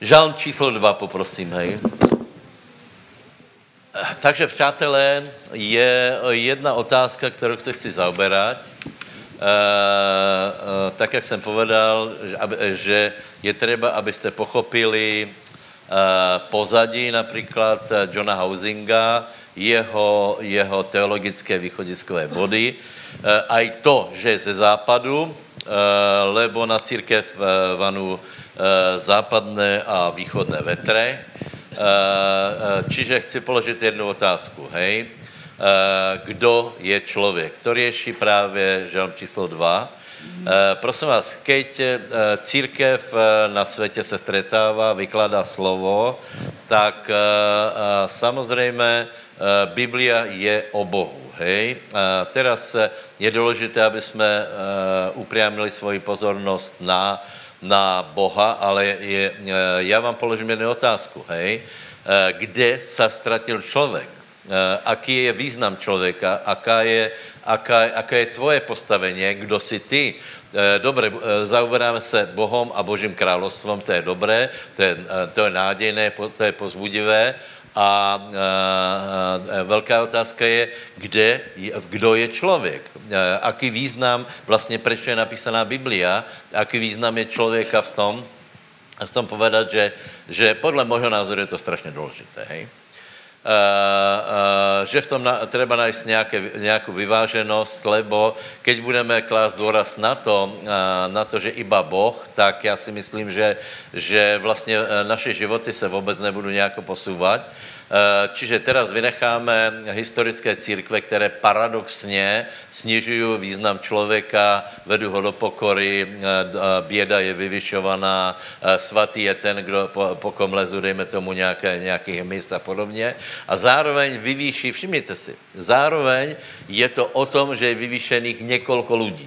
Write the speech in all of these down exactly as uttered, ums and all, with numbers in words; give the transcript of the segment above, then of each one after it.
Žalm číslo dva, poprosím, hej. Takže, přátelé, je jedna otázka, kterou se chci zaoberať. E, e, tak, jak jsem povedal, že, že je třeba, abyste pochopili e, pozadí například Johna Housinga, jeho, jeho teologické východiskové body, e, aj to, že je ze západu, e, lebo na církev vanu e, západné a východné vetre. Čiže chci položit jednu otázku, hej. Kdo je člověk? To rieši právě žalm číslo dva. Prosím vás, keď církev na světě se stretává, vykládá slovo, tak samozřejmě Biblia je o Bohu, hej. Teraz je důležité, aby jsme upriamili svoji pozornost na na Boha, ale je, já vám položím jednu otázku, hej. Kde sa stratil člověk? Aký je význam člověka? Aká je, aká, aká je tvoje postavenie? Kdo si ty? Dobre, zaoberáme se Bohom a Božím královstvom, to je dobré, to je, to je nádejné, to je pozbudivé. A, a, a velká otázka je, kde, kdo je člověk. Aký význam, vlastně proč je napísaná Biblia, aký význam je člověka v tom, a chcem povedat, že, že podle môjho názoru je to strašně důležité, hej. Uh, uh, že v tom na, treba nájsť nejaké, nejakú vyváženosť, lebo keď budeme klásť dôraz na to, uh, na to, že iba Boh, tak ja si myslím, že, že vlastne uh, naše životy sa vôbec nebudú nejako posúvať. Uh, čiže teraz vynecháme historické církve, ktoré paradoxne snižujú význam človeka, vedú ho do pokory, uh, bieda je vyvyšovaná, uh, svatý je ten, kdo po, po kom lezu, dejme tomu nejaké, nejakých míst a podobne. A zároveň vyvýší, všimněte si, zároveň je to o tom, že je vyvýšených několik lidí,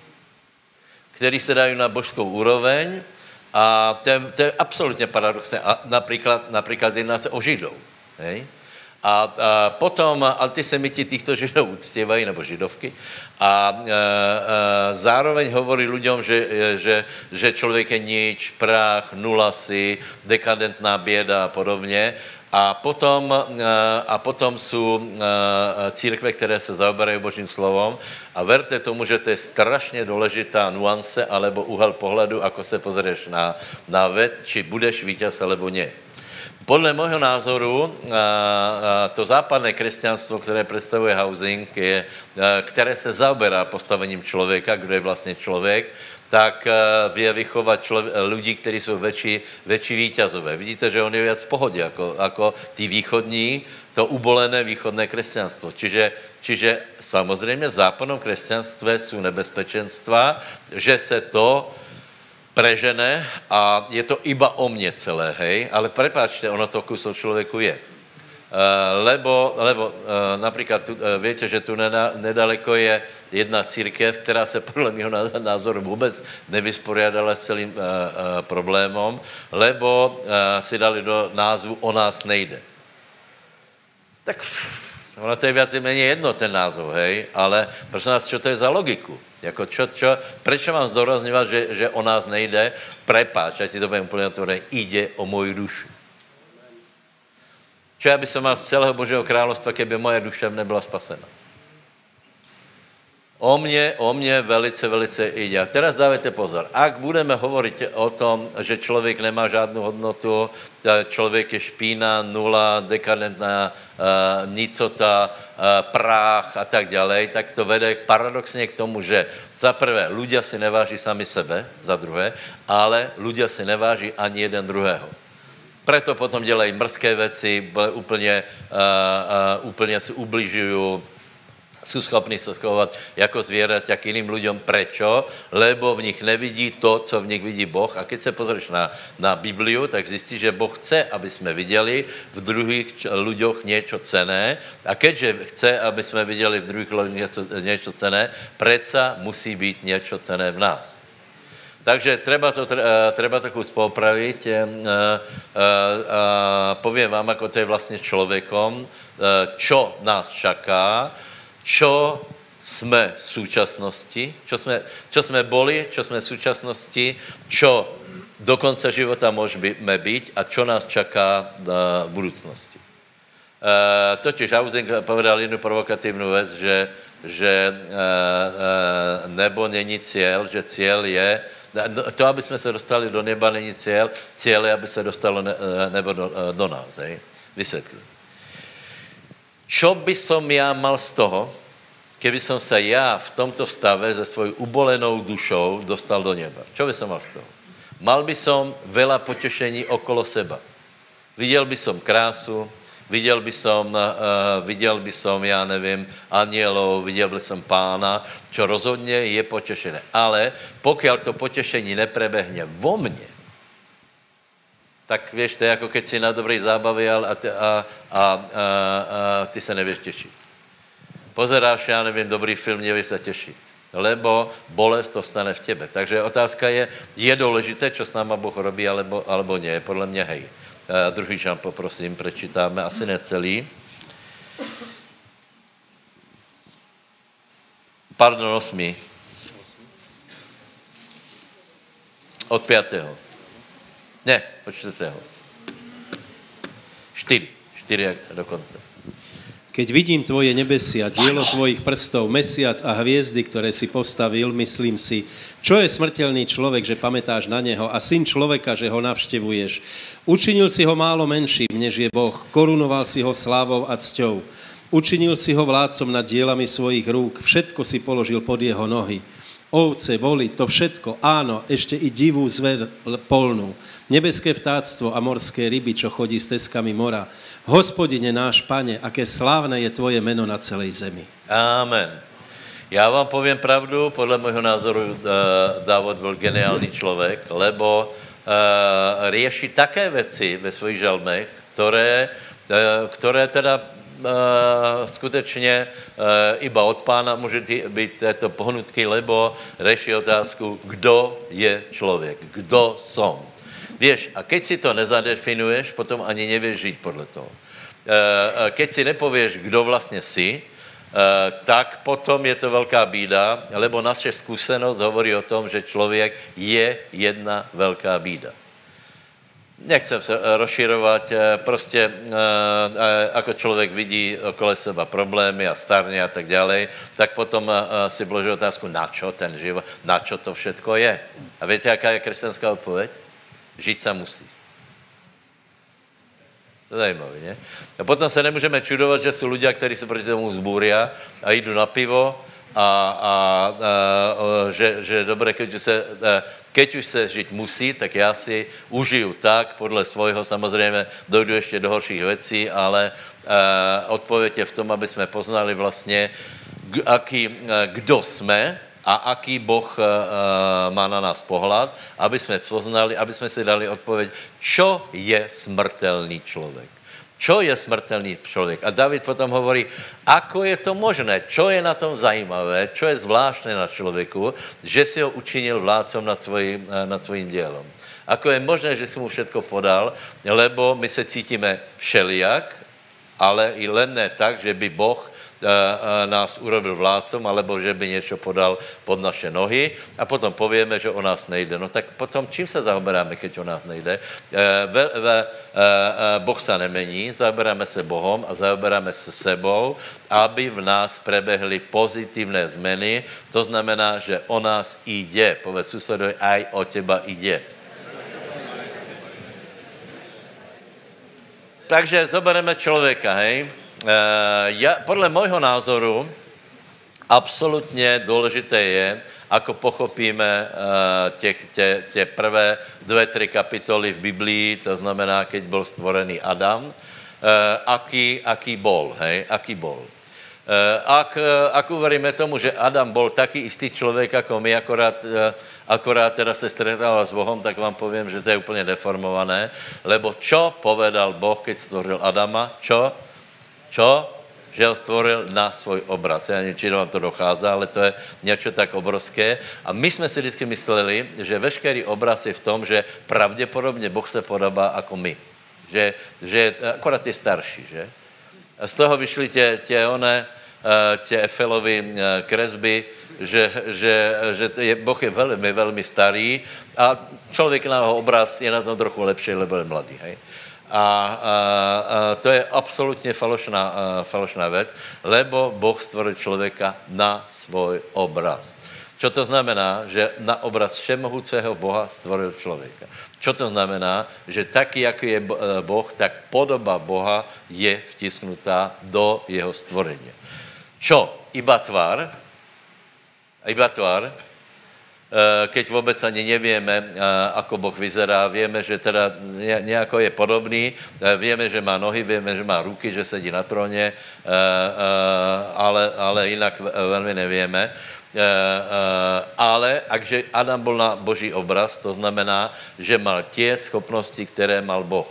kteří se dají na božskou úroveň a to je, to je absolutně paradoxné. A například, například jedná se o Židov. Hej? A, a potom antisemiti týchto Židov uctievají, nebo Židovky, a, a, a zároveň hovorí ľuďom, že, že, že člověk je nič, prach, nula si, dekadentná bieda a podobně. A potom, a potom sú církve, které se zaoberajú Božím slovom a verte tomu, že to je strašně důležitá nuance alebo úhel pohledu, ako se pozrieš na, na vec, či budeš víťaz alebo nie. Podle môjho názoru to západné kresťanstvo, které představuje Housing, je, které se zaoberá postavením člověka, kdo je vlastně člověk, tak vie vychovať člověk, ľudí, kteří jsou väčší, väčší víťazové. Vidíte, že on je viac v pohodě, jako, jako tí východní, to ubolené východné kresťanstvo. Čiže, čiže samozřejmě v západnom kresťanstve jsou nebezpečenstva, že se to prežene a je to iba o mne celé, hej, ale prepáčte, ono to kus o člověku je. Uh, lebo, lebo uh, napríklad, tu, uh, viete, že tu neda, nedaleko je jedna církev, která se podle mého názoru vůbec nevysporiadala s celým uh, uh, problémom, lebo uh, si dali do názvu O nás nejde. Tak ono to je viac menej jedno, ten názov, hej, ale prosím vás, čo to je za logiku? Jako čo, čo, prečo mám zdôrazňovať, že, že o nás nejde? Prepáč, ja ti to budem úplne otvorený, ide o moju dušu. Čo ja by som mal z celého Božieho kráľovstva, keby moja duša nebyla spasená? O mne, o mne velice, velice ide. A teraz dávajte pozor. Ak budeme hovoriť o tom, že člověk nemá žádnou hodnotu, člověk je špína, nula, dekadentná, uh, nicota, uh, prách a tak ďalej, tak to vede paradoxně k tomu, že za prvé ľudia si neváží sami sebe, za druhé, ale ľudia si neváží ani jeden druhého. Preto potom dělají mrzké věci, úplně, uh, uh, úplně si ubližují, sú schopní sa schovať jako zvieraťa k iným ľuďom. Prečo? Lebo v nich nevidí to, co v nich vidí Boh. A keď sa pozrieš na, na Bibliu, tak zistíš, že Boh chce, aby sme videli v druhých ľuďoch niečo cenné. A keďže chce, aby sme videli v druhých ľuďoch niečo, niečo cenné, predsa musí byť niečo cenné v nás. Takže treba to, treba to kus popraviť. Poviem vám, ako to je vlastne človekom, čo nás čaká, čo sme v súčasnosti, čo sme, čo sme boli, čo sme v súčasnosti, čo do konca života môžeme byť a čo nás čaká v budúcnosti. Uh, totiž Hausing povedal jednu provokatívnu vec, že, že uh, uh, nebo není cieľ, že cieľ je, to, aby sme sa dostali do neba, není cieľ, cieľ je, aby sa dostalo ne, nebo do, do nás. Hej? Vysvetlím. Čo by som ja mal z toho, keby som sa ja v tomto stave se svojou ubolenou dušou dostal do neba? Čo by som mal z toho? Mal by som veľa potešení okolo seba. Videl by som krásu, videl by som, uh, videl by som, ja neviem, anielov, videl by som pána, čo rozhodne je potešené. Ale pokiaľ to potešení neprebehne vo mne, tak vieš, to je ako keď si na dobrej zábave a, a, a, a, a, a ty sa nevieš tešiť. Pozeráš, ja neviem, dobrý film, nevieš sa tešiť. Lebo bolest to stane v tebe. Takže otázka je, je dôležité, čo s náma Boh robí, alebo, alebo nie. Podľa mňa hej. Uh, druhý žán poprosím, prečítáme, asi necelý. Pardon, osmi. Od piatého. Ne, od čtvrtého. Štyri. Štyri dokonce. Keď vidím tvoje nebesia, dielo tvojich prstov, mesiac a hviezdy, ktoré si postavil, myslím si, čo je smrteľný človek, že pamätáš na neho, a syn človeka, že ho navštevuješ. Učinil si ho málo menším, než je Boh, korunoval si ho slávou a cťou. Učinil si ho vládcom nad dielami svojich rúk, všetko si položil pod jeho nohy. Ovce, voli, to všetko, áno, ešte i divú zver polnú, nebeské vtáctvo a morské ryby, čo chodí s teskami mora. Hospodine náš Pane, aké slávne je tvoje meno na celej zemi. Amen. Já vám poviem pravdu, podle môjho názoru Dávod byl geniální člověk, lebo rieši také veci ve svojich žalmech, ktoré, ktoré teda Uh, skutečně uh, iba od pána může být této pohnutky, lebo řeší otázku, kdo je člověk, kdo som. Víš, a keď si to nezadefinuješ, potom ani nevieš žiť podle toho. Uh, keď si nepovieš, kdo vlastně si, uh, tak potom je to velká bída, lebo naše zkušenost hovorí o tom, že člověk je jedna velká bída. Nechcem se rozširovať, prostě ako člověk vidí okolo seba problémy a starne a tak ďalej, tak potom si vloží otázku, na čo ten život, na čo to všetko je. A viete, jaká je kresťanská odpověď? Žiť sa musí. To je zajímavé, ne? A potom se nemůžeme čudovat, že jsou ľudia, kteří se proti tomu zbúria a jdou na pivo a, a, a že, že dobre, keď už, se, keď už se žiť musí, tak já si užiju tak, podle svojho, samozřejmě dojdu ještě do horších věcí, ale odpověď je v tom, aby jsme poznali vlastně, aký, kdo jsme a aký Boh má na nás pohled, aby jsme poznali, aby jsme si dali odpověď, čo je smrtelný člověk. Čo je smrtelný člověk? A David potom hovorí, ako je to možné, čo je na tom zajímavé, čo je zvláštne na člověku, že si ho učinil vládcom nad svojím, nad svojím dielom. Ako je možné, že si mu všetko podal, lebo my se cítíme všelijak, ale i len ne tak, že by Boh nás urobil vládcom, alebo že by niečo podal pod naše nohy a potom povieme, že o nás nejde. No tak potom čím sa zaoberáme, keď o nás nejde? Ve, ve, boh sa nemení, zaoberáme se Bohom a zaoberáme se sebou, aby v nás prebehly pozitívne zmeny. To znamená, že o nás ide. Povedz susedovi, aj o teba ide. Takže zoberieme človeka, hej? Uh, ja, podle môjho názoru absolútne dôležité je, ako pochopíme uh, tie, tie, tie prvé dve, tri kapitoly v Biblii, to znamená, keď bol stvorený Adam, uh, aký, aký bol, hej, aký bol. Uh, ak, uh, ak uveríme tomu, že Adam bol taký istý človek, ako my, akorát, uh, akorát teda se stretával s Bohom, tak vám poviem, že to je úplne deformované, lebo čo povedal Boh, keď stvoril Adama? Čo? Čo? Že ho stvoril na svoj obraz. Ja neviem, či vám to dochádza, ale to je niečo tak obrovské. A my sme si vždycky mysleli, že veškerý obraz je v tom, že pravděpodobně Boh se podobá ako my. Že, že akorát je starší, že? A z toho vyšli tie, tie one, tie Efelovi kresby, že, že, že je, Boh je veľmi, veľmi starý a človek na jeho obraz je na tom trochu lepšie, lebo je mladý, hej. A, a, a to je absolútne falošná, a, falošná vec, lebo Boh stvoril človeka na svoj obraz. Čo to znamená? Že na obraz všemohúceho Boha stvoril človeka. Čo to znamená? Že taký, aký je Boh, tak podoba Boha je vtisknutá do jeho stvorenia. Čo? Iba tvár? Iba tvár? Keď vôbec ani nevieme, ako Boh vyzerá, vieme, že teda nejako je podobný, vieme, že má nohy, vieme, že má ruky, že sedí na tróne, ale, ale inak veľmi nevieme. Ale akže Adam bol na Boží obraz, to znamená, že mal tie schopnosti, ktoré mal Boh.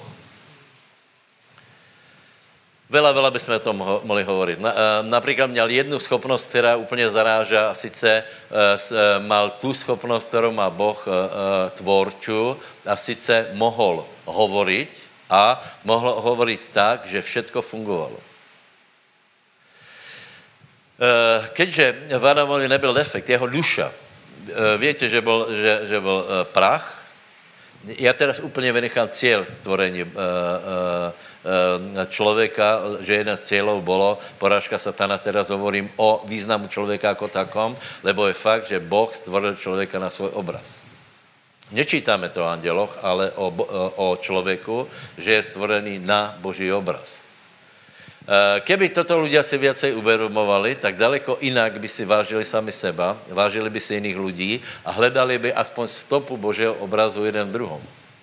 Veľa, veľa by sme o tom ho, mohli hovoriť. Na, napríklad měl jednu schopnost, která úplně zaráža, a sice uh, mal tu schopnost, kterou má Boh uh, tvorču, a sice mohl hovoriť a mohl hovoriť tak, že všetko fungovalo. Uh, keďže v Adamovi nebyl defekt, jeho duša, uh, viete, že bol, že, že bol uh, prach. Ja teraz úplně vynechám cieľ stvorení uh, uh, človeka, že jeden z cieľov bolo porážka satana, teraz hovorím o významu človeka ako takom, lebo je fakt, že Boh stvoril človeka na svoj obraz. Nečítame to o anděloch, ale o, o človeku, že je stvorený na Boží obraz. Keby toto ľudia si viacej uvedomovali, tak daleko inak by si vážili sami seba, vážili by si iných ľudí a hledali by aspoň stopu Božieho obrazu jeden v druhom.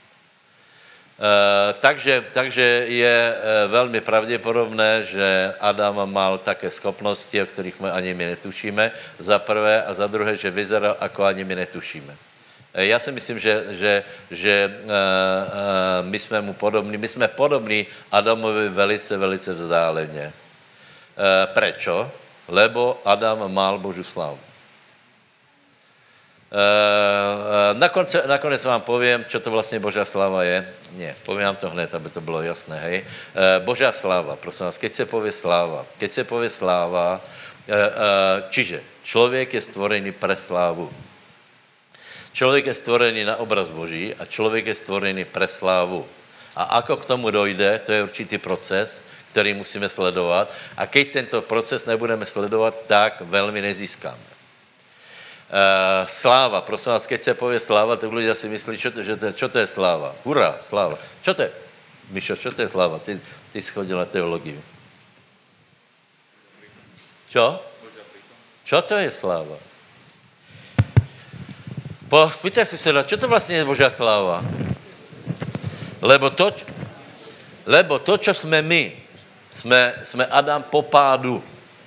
Uh, takže, takže je uh, veľmi pravděpodobné, že Adam mal také schopnosti, o ktorých my ani my netušíme, za prvé, a za druhé, že vyzeral, ako ani my netušíme. Uh, ja si myslím, že, že, že uh, uh, my jsme mu podobní, my jsme podobní Adamovi velice, velice vzdáleně. Uh, prečo? Lebo Adam mal Božú slávu. Uh, nakonec, nakonec vám poviem, čo to vlastne Božia sláva je. Nie, poviem vám to hned, aby to bylo jasné, hej. Uh, Božia sláva, prosím vás, keď se povie sláva, keď se povie sláva, uh, uh, čiže človek je stvorený pre slávu. Človek je stvorený na obraz Boží a človek je stvorený pre slávu. A ako k tomu dojde, to je určitý proces, ktorý musíme sledovať. A keď tento proces nebudeme sledovať, tak veľmi nezískáme. Uh, sláva, prosím vás, keď se povie sláva, tak ľudia si myslí, čo to, že to, čo to je sláva? Hurá, sláva. Čo to je? Mišo, čo to je sláva? Ty, ty si chodil na teológiu. Čo? Čo to je sláva? Po, spýtaj si sa, čo to vlastne je Božia sláva? Lebo to, lebo to, čo sme my, sme, sme Adam po pádu.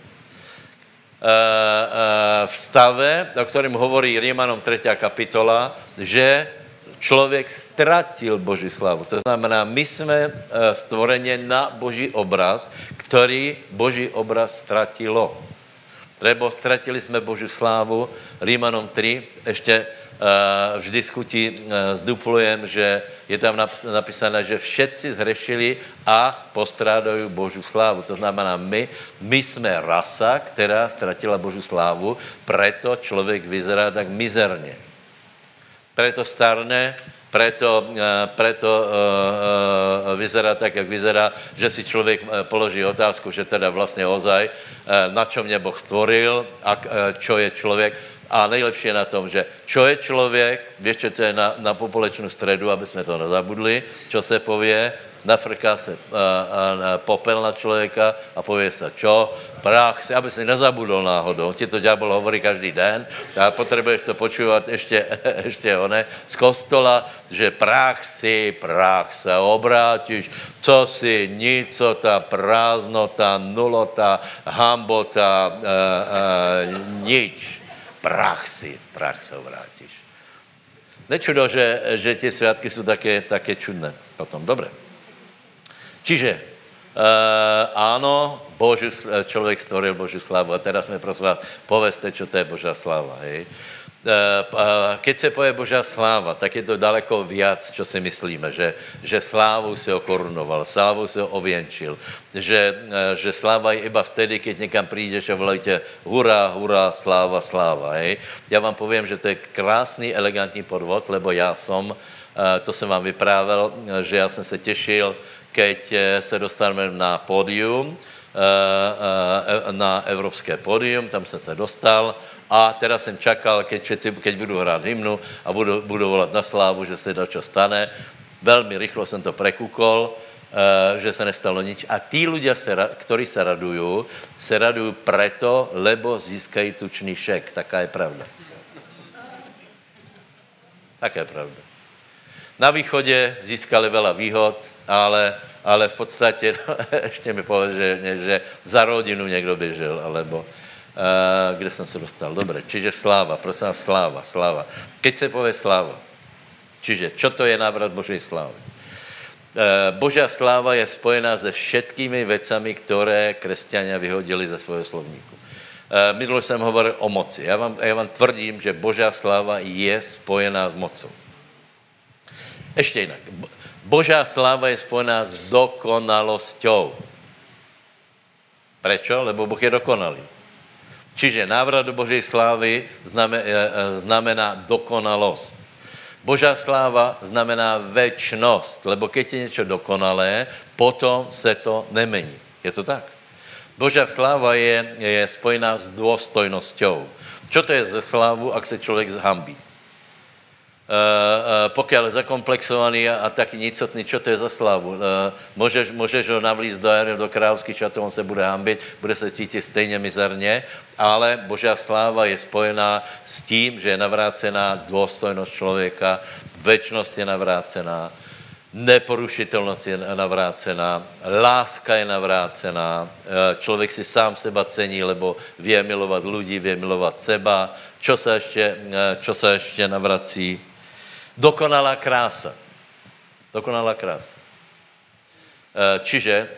v stave, o ktorým hovorí Rímanom tretia kapitola, že človek stratil Boží slavu. To znamená, my sme stvorenie na Boží obraz, ktorý Boží obraz stratilo. Lebo stratili sme Božiu slávu. Rímanom tri, ešte uh, v diskuti uh, zduplujem, že je tam napísané, že všetci zhrešili a postrádajú Božiu slávu. To znamená, my, my sme rasa, ktorá stratila Božiu slávu, preto človek vyzerá tak mizerne. Preto starne, preto, preto uh, uh, vyzerá tak, jak vyzerá, že si človek položí otázku, že teda vlastne ozaj, uh, na čo mne Boh stvoril a uh, čo je človek. A nejlepšie je na tom, že čo je človek, vieš, čo to je na, na popolečnú stredu, aby sme to nezabudli, čo se povie, nafrká se uh, uh, popel na človeka a povie sa čo? Prach si, aby si nezabudol náhodou. Ti to ďábel hovorí každý den a potrebuješ to počúvať ešte, ešte one z kostola, že prach si, prach sa obrátiš, co si, nicota, prázdnota, nulota, hambota, uh, uh, nič. Prach si, prach sa obrátiš. Nečudo, že, že tie sviatky sú také, také čudné potom. Dobre. Čiže, uh, áno, Božiu, človek stvoril Božiu slávu. A teraz sme prosím vás, poveste, čo to je Božia sláva. Hej. Keď se poje Božá sláva, tak je to daleko viac, čo si myslíme, že, že slávou si ho korunoval, slávou si ho ověnčil, že, že sláva je iba vtedy, keď někam přijdeš a volajíte hurá, hurá, sláva, sláva. Hej. Já vám povím, že to je krásný, elegantní podvod, lebo já som, to jsem vám vyprávěl, že já jsem se těšil, keď se dostaneme na pódium, na evropské pódium, tam jsem se dostal a teda jsem čakal, keď, všetci, keď budu hrát hymnu a budu, budu volat na slávu, že se dačo stane. Velmi rychlo jsem to prekukol, že se nestalo nič. A tí ľudia, ktorí se radujú, se radujú preto, lebo získají tučný šek. Taká je pravda. Taká je pravda. Na východě získali veľa výhod, ale ale v podstatě, no, ještě mi povedal, že, že za rodinu někdo běžel, alebo uh, kde jsem se dostal. Dobre, čiže sláva, prosím vás, sláva, sláva. Keď se povie sláva, čiže čo to je návrat Božej slávy? Uh, Božia sláva je spojená se všetkými vecami, které kresťania vyhodili ze svojho slovníku. Uh, minule jsem hovoril o moci. Já vám, já vám tvrdím, že Božia sláva je spojená s mocou. Ještě jinak. Božá sláva je spojená s dokonalosťou. Prečo? Lebo Boh je dokonalý. Čiže návrat do Božej slávy znamená dokonalosť. Božá sláva znamená večnosť, lebo keď je niečo dokonalé, potom se to nemení. Je to tak? Božá sláva je, je spojená s dôstojnosťou. Čo to je ze slávu, ak se člověk zhambí? Uh, uh, pokiaľ je zakomplexovaný a, a taký nicotný, čo to je za slávu? Uh, môžeš, môžeš ho navlíct do, do kráľovských šatov, on se bude hambiť, bude se cítiť stejně mizerně, ale Božá sláva je spojená s tím, že je navrácená dôstojnosť člověka, večnosť je navrácená, neporušitelnost je navrácená, láska je navrácená, člověk si sám seba cení, lebo vie milovat ľudí, vie milovat seba. Čo sa ešte, čo sa ešte navrací? Dokonalá krása. Dokonalá krása. Čiže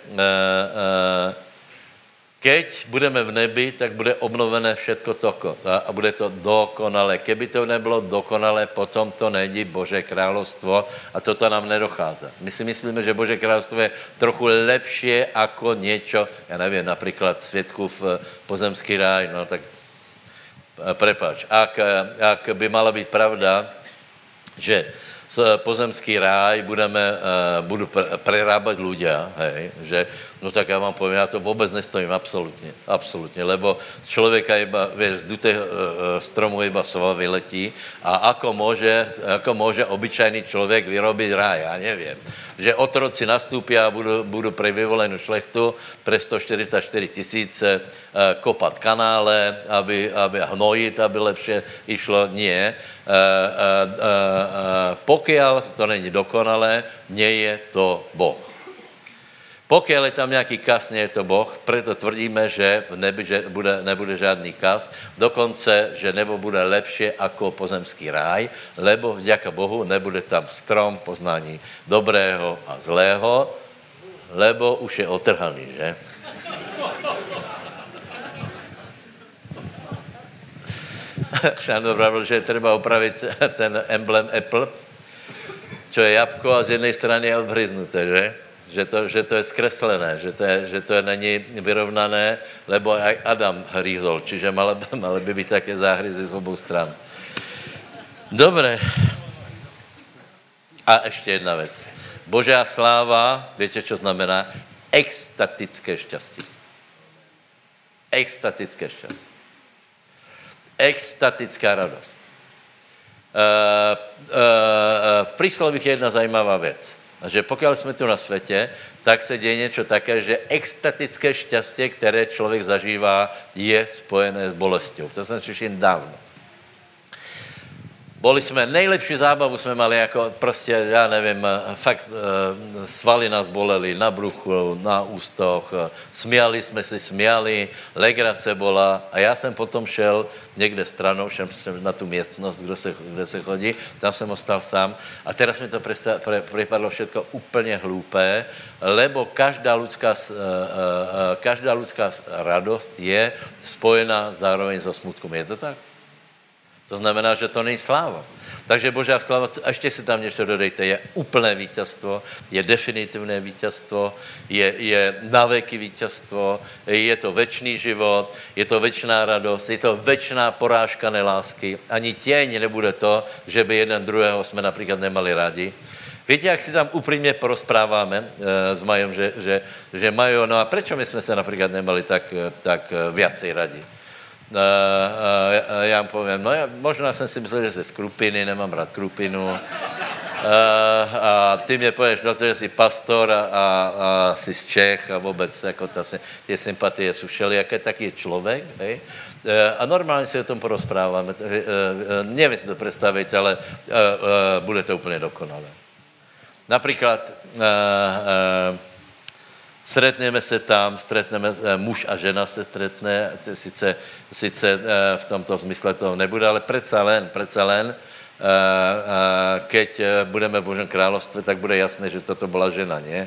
keď budeme v nebi, tak bude obnovené všetko toko a bude to dokonalé. Keby to nebylo dokonalé, potom to není Božé kráľovstvo a toto nám nedochádza. My si myslíme, že Božé kráľovstvo je trochu lepšie ako niečo, ja neviem, napríklad Světkův pozemský ráj, no tak prepáč. Ak, ak by mala byť pravda, že pozemský ráj budeme, uh, budu prerábať ľudia, hej, že, no tak ja vám poviem, ja to vôbec nestojím, absolútne, absolútne, lebo človeka iba, vieš, z dutého uh, stromu iba sova vyletí a ako môže, ako môže obyčajný človek vyrobiť ráj, ja neviem. Že otroci nastúpia a budú, budú pre vyvolenú šlechtu pre sto štyridsaťštyri tisíce uh, kopat kanále, aby, aby hnojiť, aby lepšie išlo, nie. Uh, uh, uh, uh, pokiaľ to není dokonalé, nie je to Boh. Pokiaľ je tam nejaký kas, nie je to Boh, preto tvrdíme, že v nebi že bude, nebude žádný kas, dokonce, že nebo bude lepšie ako pozemský ráj, lebo vďaka Bohu nebude tam strom poznání dobrého a zlého, lebo už je otrhaný, že? Šandor pravil, že treba opravit ten emblem Apple, čo je jabko a z jednej strany je odhryznuté, že? Že to, že to je skreslené, že to, je, že to je není vyrovnané, lebo aj Adam hryzol, čiže mali, mali by byť také záhryzy z obou stran. Dobre. A ešte jedna vec. Božia sláva, viete, čo znamená? Extatické šťastie. Extatické šťastie. Extatická radosť. Uh, uh, uh, v príslovích je jedna zajímavá vec. Že pokiaľ sme tu na svete, tak se deje niečo také, že extatické šťastie, ktoré človek zažívá, je spojené s bolesťou. To som slyšel dávno. Boli sme, nejlepšiu zábavu sme mali, ako proste, ja neviem, fakt svaly nás boleli na bruchu, na ústoch, smiali sme si, smiali, legrace bola a ja som potom šel niekde stranou, šel som na tú miestnosť, kde se, kde se chodí, tam som ostal sám a teraz mi to presta, pre, prepadlo všetko úplne hlúpé, lebo každá ľudská, každá ľudská radosť je spojená zároveň so smutkom. Je to tak? To znamená, že to není sláva. Takže Božá sláva, a ještě si tam něco dodejte, je úplné víťazstvo, je definitivné víťazstvo, je, je naveky víťazstvo, je to večný život, je to večná radost, je to večná porážka nelásky. Ani těň nebude to, že by jeden druhého jsme například nemali rádi. Víte, jak si tam upřímně porozpráváme e, s Majom, že, že, že Majo, no a prečo my jsme se například nemali tak, tak viacej radi? Uh, uh, já mu povím, no já, možná jsem si myslel, že jsi z Krupiny, nemám rád Krupinu. Uh, a ty mě pověš, no to, že jsi pastor a, a, a jsi z Čech a vůbec jako ta, ty sympatie jsou všelijaké, tak je člověk, hej? Uh, a normálně si o tom porozpráváme. Uh, uh, nevím si to představit, ale uh, uh, bude to úplně dokonalé. Například uh, uh, stretneme se tam, stretneme, muž a žena se stretne, sice, sice v tomto zmysle to nebude, ale predsa len, predsa len, keď budeme v Božom královstve, tak bude jasné, že toto byla žena, nie?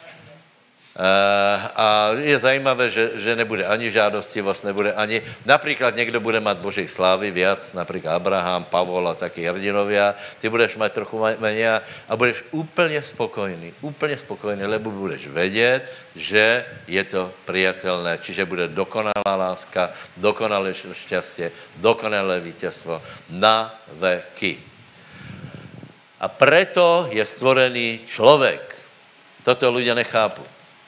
A je zajímavé, že, že nebude ani žádostivost, nebude ani... Například někdo bude mít Božej slávy viac, například Abraham, Pavol a taky hrdinovia, ty budeš mít trochu méně a budeš úplně spokojný, úplně spokojný, lebo budeš vědět, že je to prijatelné, čiže bude dokonalá láska, dokonalé šťastie, dokonalé víťazstvo na veky. A preto je stvorený člověk. Toto ľudia nechápu.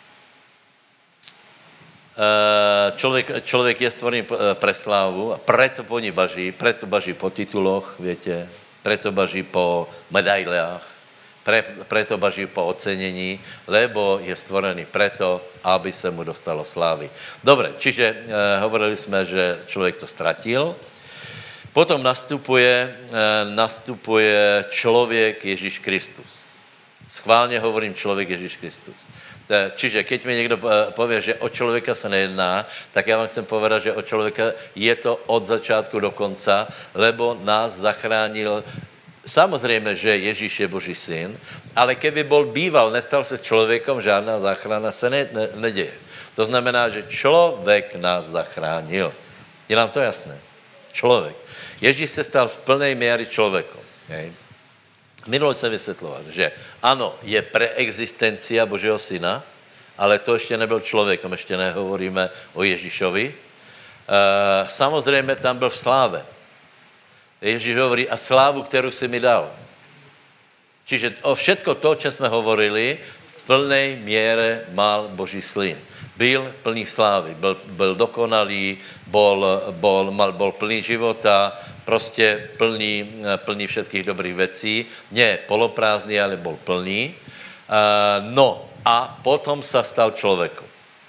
Člověk, člověk je stvorený pre slávu a preto po ní baží, preto baží po tituloch, viete, preto baží po medailách, pre, preto baží po ocenení, lebo je stvorený preto, aby se mu dostalo slávy. Dobre, čiže eh, hovorili jsme, že člověk to ztratil, potom nastupuje, eh, nastupuje člověk Ježíš Kristus. Schválně hovorím člověk Ježíš Kristus. Čiže keď mi někdo povie, že o člověka se nejedná, tak já vám chcem povedat, že o člověka je to od začátku do konca, lebo nás zachránil. Samozřejmě, že Ježíš je Boží syn, ale keby bol býval, nestal se člověkom, žádná záchrana se ne, ne, neděje. To znamená, že člověk nás zachránil. Je nám to jasné? Člověk. Ježíš se stal v plnej míry člověkom. Hej? Minule jsem vysvětloval, že ano, je preexistencia Božího syna, ale to ještě nebyl člověkem, ještě nehovoríme o Ježíšovi. E, samozřejmě tam byl v sláve. Ježíš hovorí, a slávu, kterou si mi dal. Čiže o všetko to, čo jsme hovorili, v plnej míre mal Boží syn. Byl plný slávy, byl, byl dokonalý, bol, bol, mal, bol plný života, prostě plný, plný všetkých dobrých věcí. Ne poloprázdný, ale bol plný. Uh, no a potom sa stal člověkom.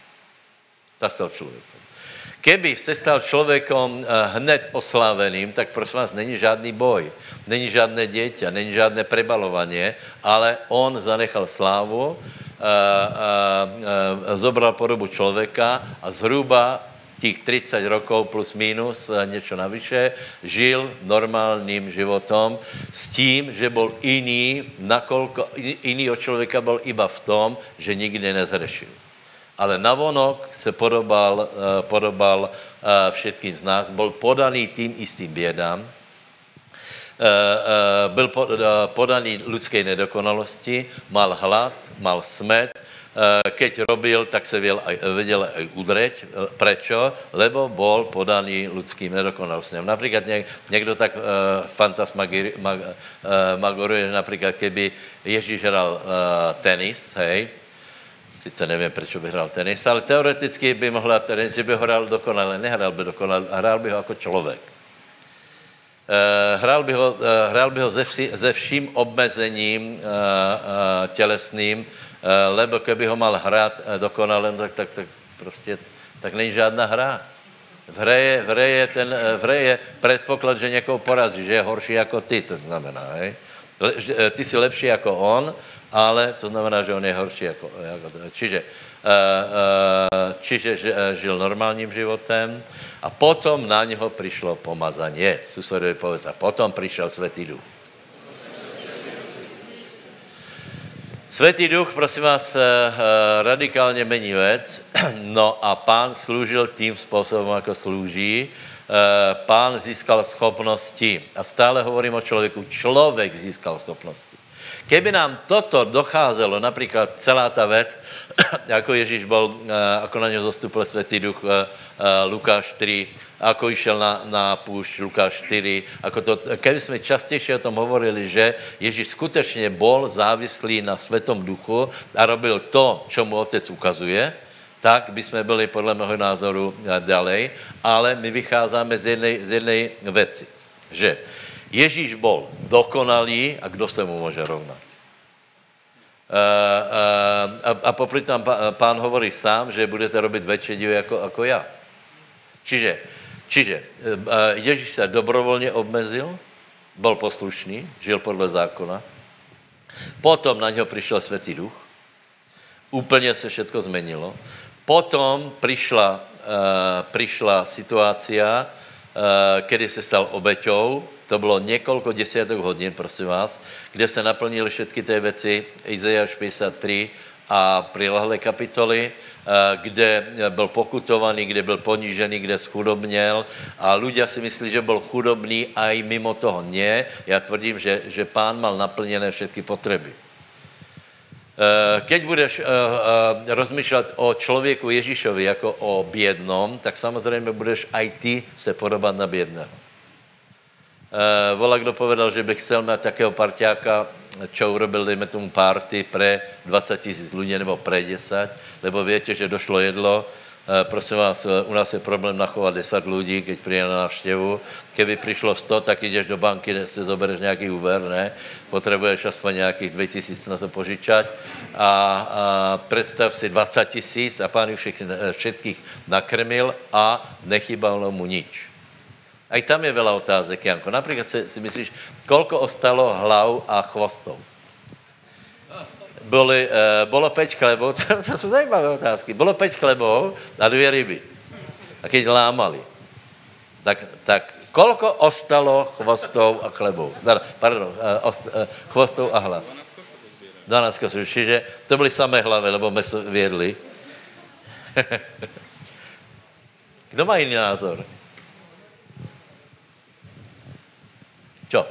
Sa stal člověkom. Keby se stal člověkom uh, hned osláveným, tak prosím vás, není žádný boj, není žádné dieťa, není žádné prebalovanie, ale on zanechal slávu, uh, uh, uh, zobral podobu člověka a zhruba těch třicet rokov plus minus, něco navyše, žil normálním životom s tím, že byl jiný, nakolko, jiný od člověka byl iba v tom, že nikdy nezhrešil. Ale navonok se podobal, podobal všetkým z nás, byl podaný tým istým bědám, byl podaný lidské nedokonalosti, mal hlad, mal smet, keď robil, tak se vedel aj udreť. Prečo? Lebo bol podaný ľudským nedokonalostem. Napríklad niekto tak uh, fantasmagoruje, napríklad keby Ježíš hral uh, tenis, hej, sice nevím, prečo by hral tenis, ale teoreticky by mohl hrát tenis, že by ho hral dokonale, nehral by dokonale, hrál by ho jako člověk. Uh, hrál by ho, uh, hrál by ho ze, vši, ze vším obmezením uh, uh, tělesným, Uh, lebo keby ho mal hrát uh, dokonale, tak, tak, tak prostě tak není žádná hra. V hře je, v hře je, ten, v hře je předpoklad, že někoho porazí, že je horší jako ty, to znamená, hej? Le, že, ty jsi lepší jako on, ale to znamená, že on je horší jako, jako čiže, uh, uh, čiže ž, uh, žil normálním životem a potom na něho přišlo pomazanie. Susedovi povedz, a potom přišel Svätý Duch. Svätý Duch, prosím vás, radikálně mení věc. No a Pán slúžil tým způsobem, jako slúží. Pán získal schopnosti. A stále hovorím o člověku. Člověk získal schopnosti. Keby nám toto docházelo, napríklad celá tá vec, ako Ježíš bol, ako na ňo zostúpil Svätý Duch, Lukáš tri, ako išiel na, na púšť, Lukáš štyri, ako to, keby sme častejšie o tom hovorili, že Ježíš skutečne bol závislý na Svetom Duchu a robil to, čo mu Otec ukazuje, tak by sme byli podľa môjho názoru ďalej, ale my vychádzame z jednej, z jednej veci, že Ježíš bol dokonalý a kdo se mu môže rovnať? Uh, uh, a, a popri tam pán hovorí sám, že budete robiť väčšie divy ako, ako ja. Čiže, čiže uh, Ježíš sa dobrovoľne obmezil, bol poslušný, žil podľa zákona, potom na ňo prišiel Svätý Duch, úplne sa všetko zmenilo, potom prišla, uh, prišla situácia, uh, kedy sa stal obeťou. To bylo několik desiatok hodin, prosím vás, kde se naplnili všetky ty věci, Izaiáš päťdesiattri a prilehlé kapitoly, kde byl pokutovaný, kde byl ponížený, kde schudobněl a ľudia si myslí, že byl chudobný a i mimo toho nie. Já tvrdím, že, že pán mal naplněné všetky potřeby. Keď budeš rozmýšľať o člověku Ježíšovi jako o biednom, tak samozřejmě budeš aj ty se podobat na biedného. Uh, vola, kdo povedal, že by chcel mať takého parťáka, čo urobil, dejme tomu party pre dvadsať tisíc ľudí, nebo pre desať, lebo viete, že došlo jedlo. Uh, prosím vás, u nás je problém nachovať desať ľudí, keď príde na návštevu. Keby prišlo sto, tak ideš do banky, si zobereš nejaký úver, ne? Potrebuješ aspoň nejakých dve tisíc na to požičať. A, a predstav si dvadsať tisíc a pán všetkých, všetkých nakrmil a nechybalo mu nič. Aj tam je veľa otázek, Janko. Napríklad si, si myslíš, koľko ostalo hlav a chvostov? Boli, e, bolo päť chlebov, to sú zajímavé otázky. Bolo päť chlebov a dvě ryby. A keď lámali, tak, tak koľko ostalo chvostov a chlebov? Pardon, e, ost, e, chvostov a hlav. dvanásť kosov. Čiže to byly samé hlavy, lebo meso viedli. Kdo má iný názor? Čo?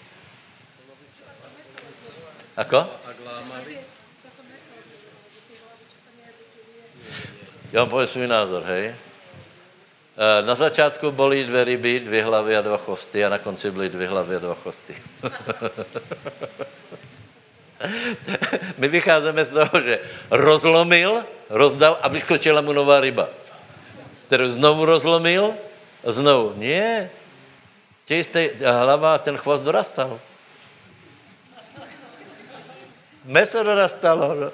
Ako? Ja vám poviem svůj názor, hej. Na začátku boli dvě ryby, dvě hlavy a dva chvosty a na konci byly dvě hlavy a dva chvosty. My vycházíme z toho, že rozlomil, rozdal a vyskočila mu nová ryba. Kterou znovu rozlomil a znovu. Nie. Tě jste hlava a ten chvost dorastal. Meso dorastalo. No.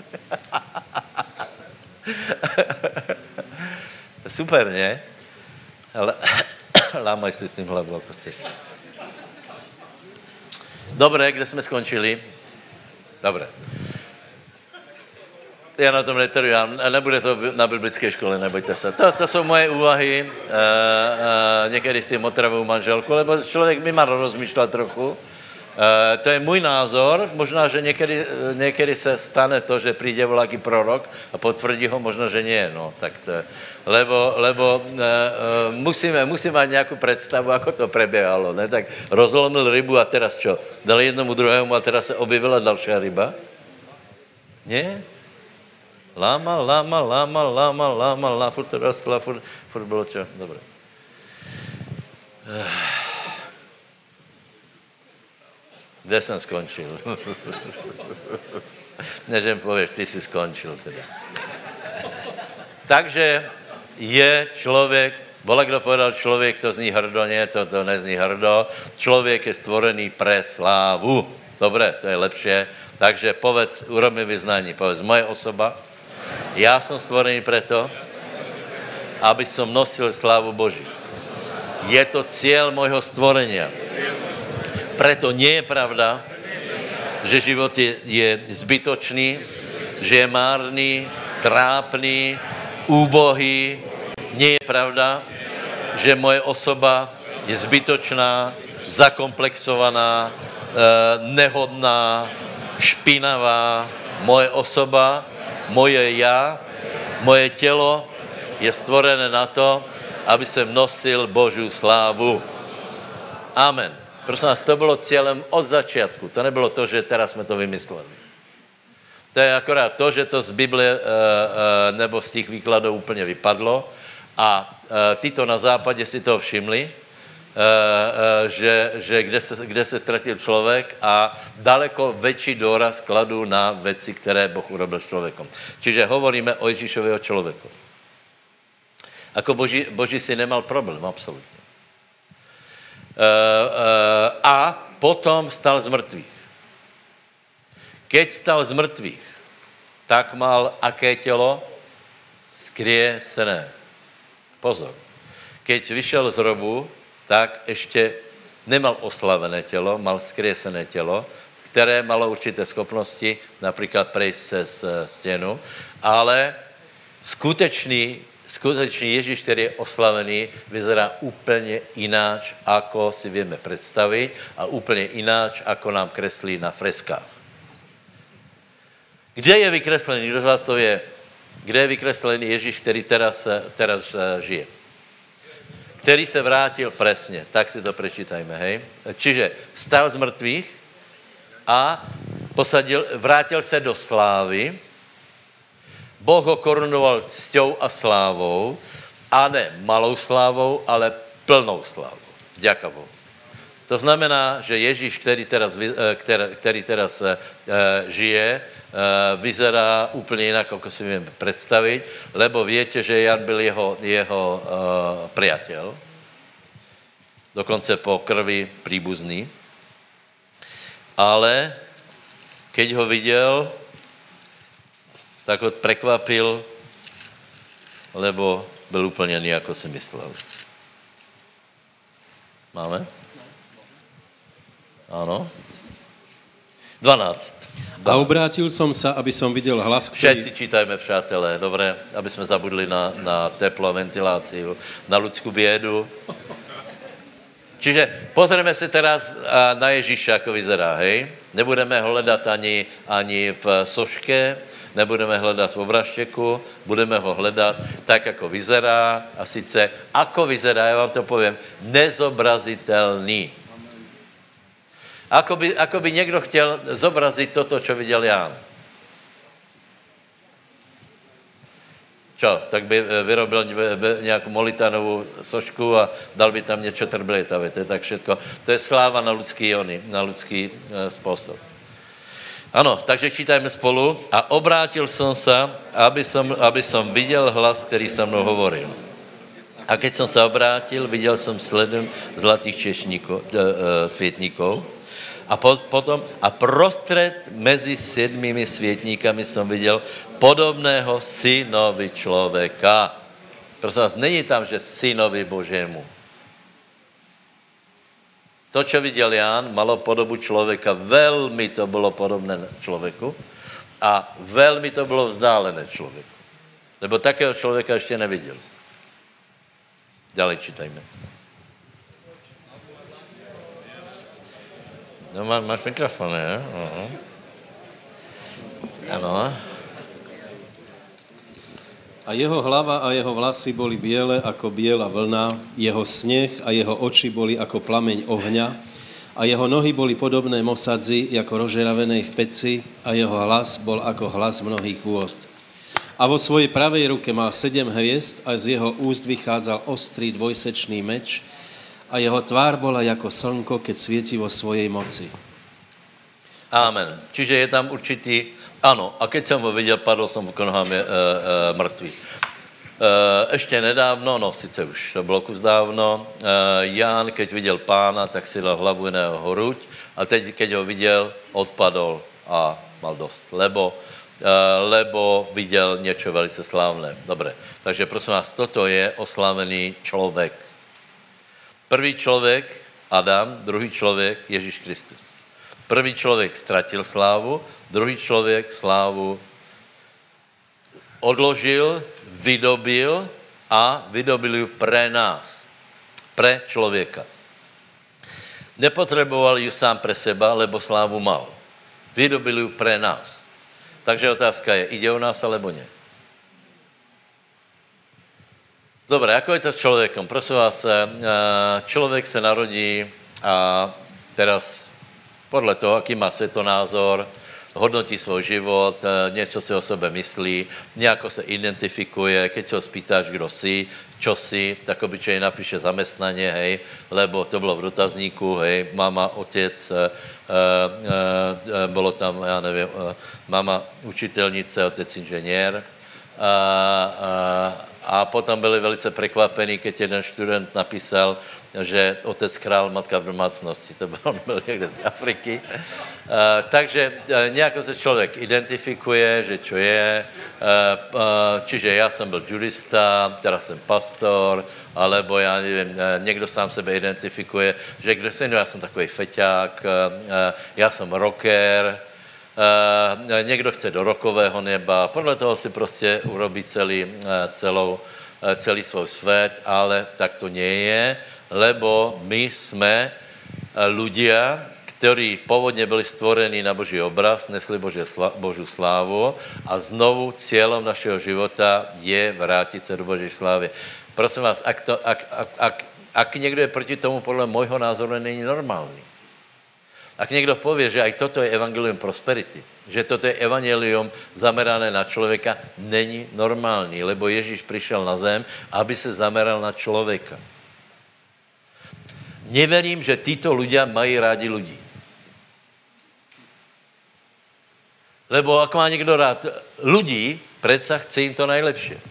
Super, ne? Ale lámaj si s tím hlavu, ako chceš. Dobre, kde jsme skončili? Dobre. Já na tom netrvám, nebude to na biblické škole, nebojte se. To, to jsou moje úvahy, e, e, někdy s tím otravou manželku, lebo člověk by mal rozmýšlet trochu. E, to je můj názor, možná, že někdy, někdy se stane to, že přijde voľaký prorok a potvrdí ho, možná, že nie, no, tak to je. Lebo, lebo e, e, musíme, musíme mať nějakou představu, ako to prebiehalo, ne? Tak rozlomil rybu a teraz čo? Dal jednomu druhému a teraz se objevila další ryba? Nie? Lámal, lámal, lámal, lámal, lámal, lámal, furt to rostla, furt, furt bylo čo? Dobre. Kde jsem skončil? Než jim pověš, ty jsi skončil teda. Takže je člověk, vola, kdo povedal člověk, to zní hrdo, nie, to, to nezní hrdo. Člověk je stvorený pre slávu. Dobre, to je lepšie. Takže povedz, urob mi vyznání, povedz, moje osoba, já jsem stvorený preto, aby som nosil slávu Boží. Je to cieľ môjho stvorenia. Preto nie je pravda, že život je, je zbytočný, že je márný, trápný, úbohý. Nie je pravda, že moje osoba je zbytočná, zakomplexovaná, nehodná, špinavá. Moje osoba, moje ja, moje tělo je stvorené na to, aby jsem nosil Božiu slávu. Amen. Prosím vás, to bylo cílem od začátku. To nebylo to, že teraz jsme to vymysleli. To je akorát to, že to z Bible e, e, nebo z těch výkladů úplně vypadlo a e, tyto na západě si toho všimli, e, e, že, že kde, se, kde se ztratil člověk a daleko větší důraz kladou na věci, které Boh urobil s člověkom. Čiže hovoríme o Ježíšového člověku. Ako Boží, Boží si nemal problém, absolutně. E, e, a potom vstal z mrtvých. Keď stal z mrtvých, tak mal aké tělo? Skriesené. Pozor. Keď vyšel z hrobu, tak ještě nemal oslavené tělo, mal skriesené tělo, které malo určité schopnosti, například prejsť cez stěnu, ale skutečný Skutečný Ježíš, který je oslavený, vyzerá úplně ináč, ako si vieme představit a úplně ináč, ako nám kreslí na freskách. Kde je vykreslený? Kdo z vás to je? Kde je vykreslený Ježíš, který teraz, teraz žije? Který se vrátil presně. Tak si to prečítajme, hej? Čiže vstal z mrtvých a posadil, vrátil se do slávy. Boh ho korunoval cťou a slávou, a ne malou slávou, ale plnou slávou. Vďaka Bohu. To znamená, že Ježíš, který teraz, který, který teraz uh, žije, uh, vyzerá úplně jinak, ako si vieme představit, lebo viete, že Jan byl jeho, jeho uh, priateľ, dokonce po krvi príbuzný, ale keď ho viděl, tak ho prekvapil, lebo byl úplně jiný, ako si myslel. Máme? Áno. dvanáct. A obrátil som sa, aby som videl hlas, ktorý... Všetci čítajme, přátelé, dobré, aby jsme zabudli na, na teplo a ventiláciu, na ľudskú biedu. Čiže pozrieme se teraz na Ježíša, ako vyzerá, hej? Nebudeme ho hledat ani, ani v soške, nebudeme hledat v obraštěku, budeme ho hledat tak, jako vyzerá, a sice, ako vyzerá, já vám to povím, nezobrazitelný. Ako by, ako by někdo chtěl zobrazit toto, čo viděl Ján. Čo? Tak by vyrobil nějakou molitanovou sošku a dal by tam něco trbletavé. To je tak všetko. To je sláva na lidský ony, na lidský e, způsob. Ano, takže čítajme spolu. A obrátil jsem se, aby som, aby som viděl hlas, který se mnou hovoril. A keď jsem se obrátil, viděl jsem sledem zlatých češníkov, e, e, světníkov. A potom, a prostřed mezi sedmými světníkami jsem viděl podobného synovi člověka. Prosím vás, není tam, že synovi Božému. To, čo viděl Ján, malo podobu člověka, velmi to bylo podobné člověku a velmi to bylo vzdálené člověku. Lebo takého člověka ještě neviděl. Ďalej čítajme. No, má, máš mikrofon, ne? Uh-huh. Ano. A jeho hlava a jeho vlasy boli biele ako biela vlna, jeho sneh a jeho oči boli ako plameň ohňa a jeho nohy boli podobné mosadzi, ako rozžeravenej v peci a jeho hlas bol ako hlas mnohých vôd. A vo svojej pravej ruke mal sedem hviezd a z jeho úst vychádzal ostrý dvojsečný meč a jeho tvár bola ako slnko, keď svieti vo svojej moci. Amen. Čiže je tam určitý... Ano, a keď jsem ho viděl, padl jsem k nohám e, e, mrtvý. E, ještě nedávno, no sice už to bylo kus dávno, e, Ján, keď viděl pána, tak si dal hlavu na jeho hruď a teď, keď ho viděl, odpadol a mal dost, lebo, e, lebo viděl něco velice slávné. Dobré, takže prosím vás, toto je oslavený člověk. Prvý člověk, Adam, druhý člověk, Ježíš Kristus. Prvý člověk ztratil slávu, druhý člověk slávu odložil, vydobil a vydobil ju pre nás, pre člověka. Nepotřeboval ju sám pre seba, lebo slávu mal. Vydobil ju pre nás. Takže otázka je, ide o nás alebo ne? Dobre, ako je to s človekom? Prosím vás, človek sa narodí a teraz podľa toho, aký má svetonázor, hodnotí svoj život, niečo si o sebe myslí, nejako sa identifikuje, keď sa ho spýtáš, kdo si, čo si, tak obyčejne napíše zamestnanie, hej, lebo to bylo v dotazníku, hej, mama, otec, e, e, e, bolo tam, ja neviem, e, mama učiteľnice, otec inženier. A, a, a potom byli velice prekvapení, keď jeden študent napísal, že otec král, matka v domácnosti. To byl, on byl někde z Afriky. Uh, takže uh, nejako se člověk identifikuje, že čo je. Uh, uh, čiže já jsem byl judista, teda jsem pastor, alebo já nevím, uh, někdo sám sebe identifikuje, že kde jsem, no, já jsem takový feťák, uh, uh, já jsem rocker, uh, někdo chce do rokového neba, podle toho si prostě urobí celý, uh, celou, uh, celý svůj svět, ale tak to nie je, lebo my jsme ľudia, ktorí pôvodne byli stvorení na Boží obraz, nesli Božie sla- Božú slávu a znovu cieľom našeho života je vrátiť sa do Božej slávy. Prosím vás, ak, to, ak, ak, ak, ak niekto je proti tomu, podľa môjho názoru není normálny. Ak niekto povie, že aj toto je evangelium prosperity, že toto je evangelium zamerané na človeka, není normálny, lebo Ježíš prišiel na zem, aby sa zameral na človeka. Neverím, že títo ľudia mají rádi ľudí. Lebo ak má niekto rád ľudí, predsa chce im to najlepšie.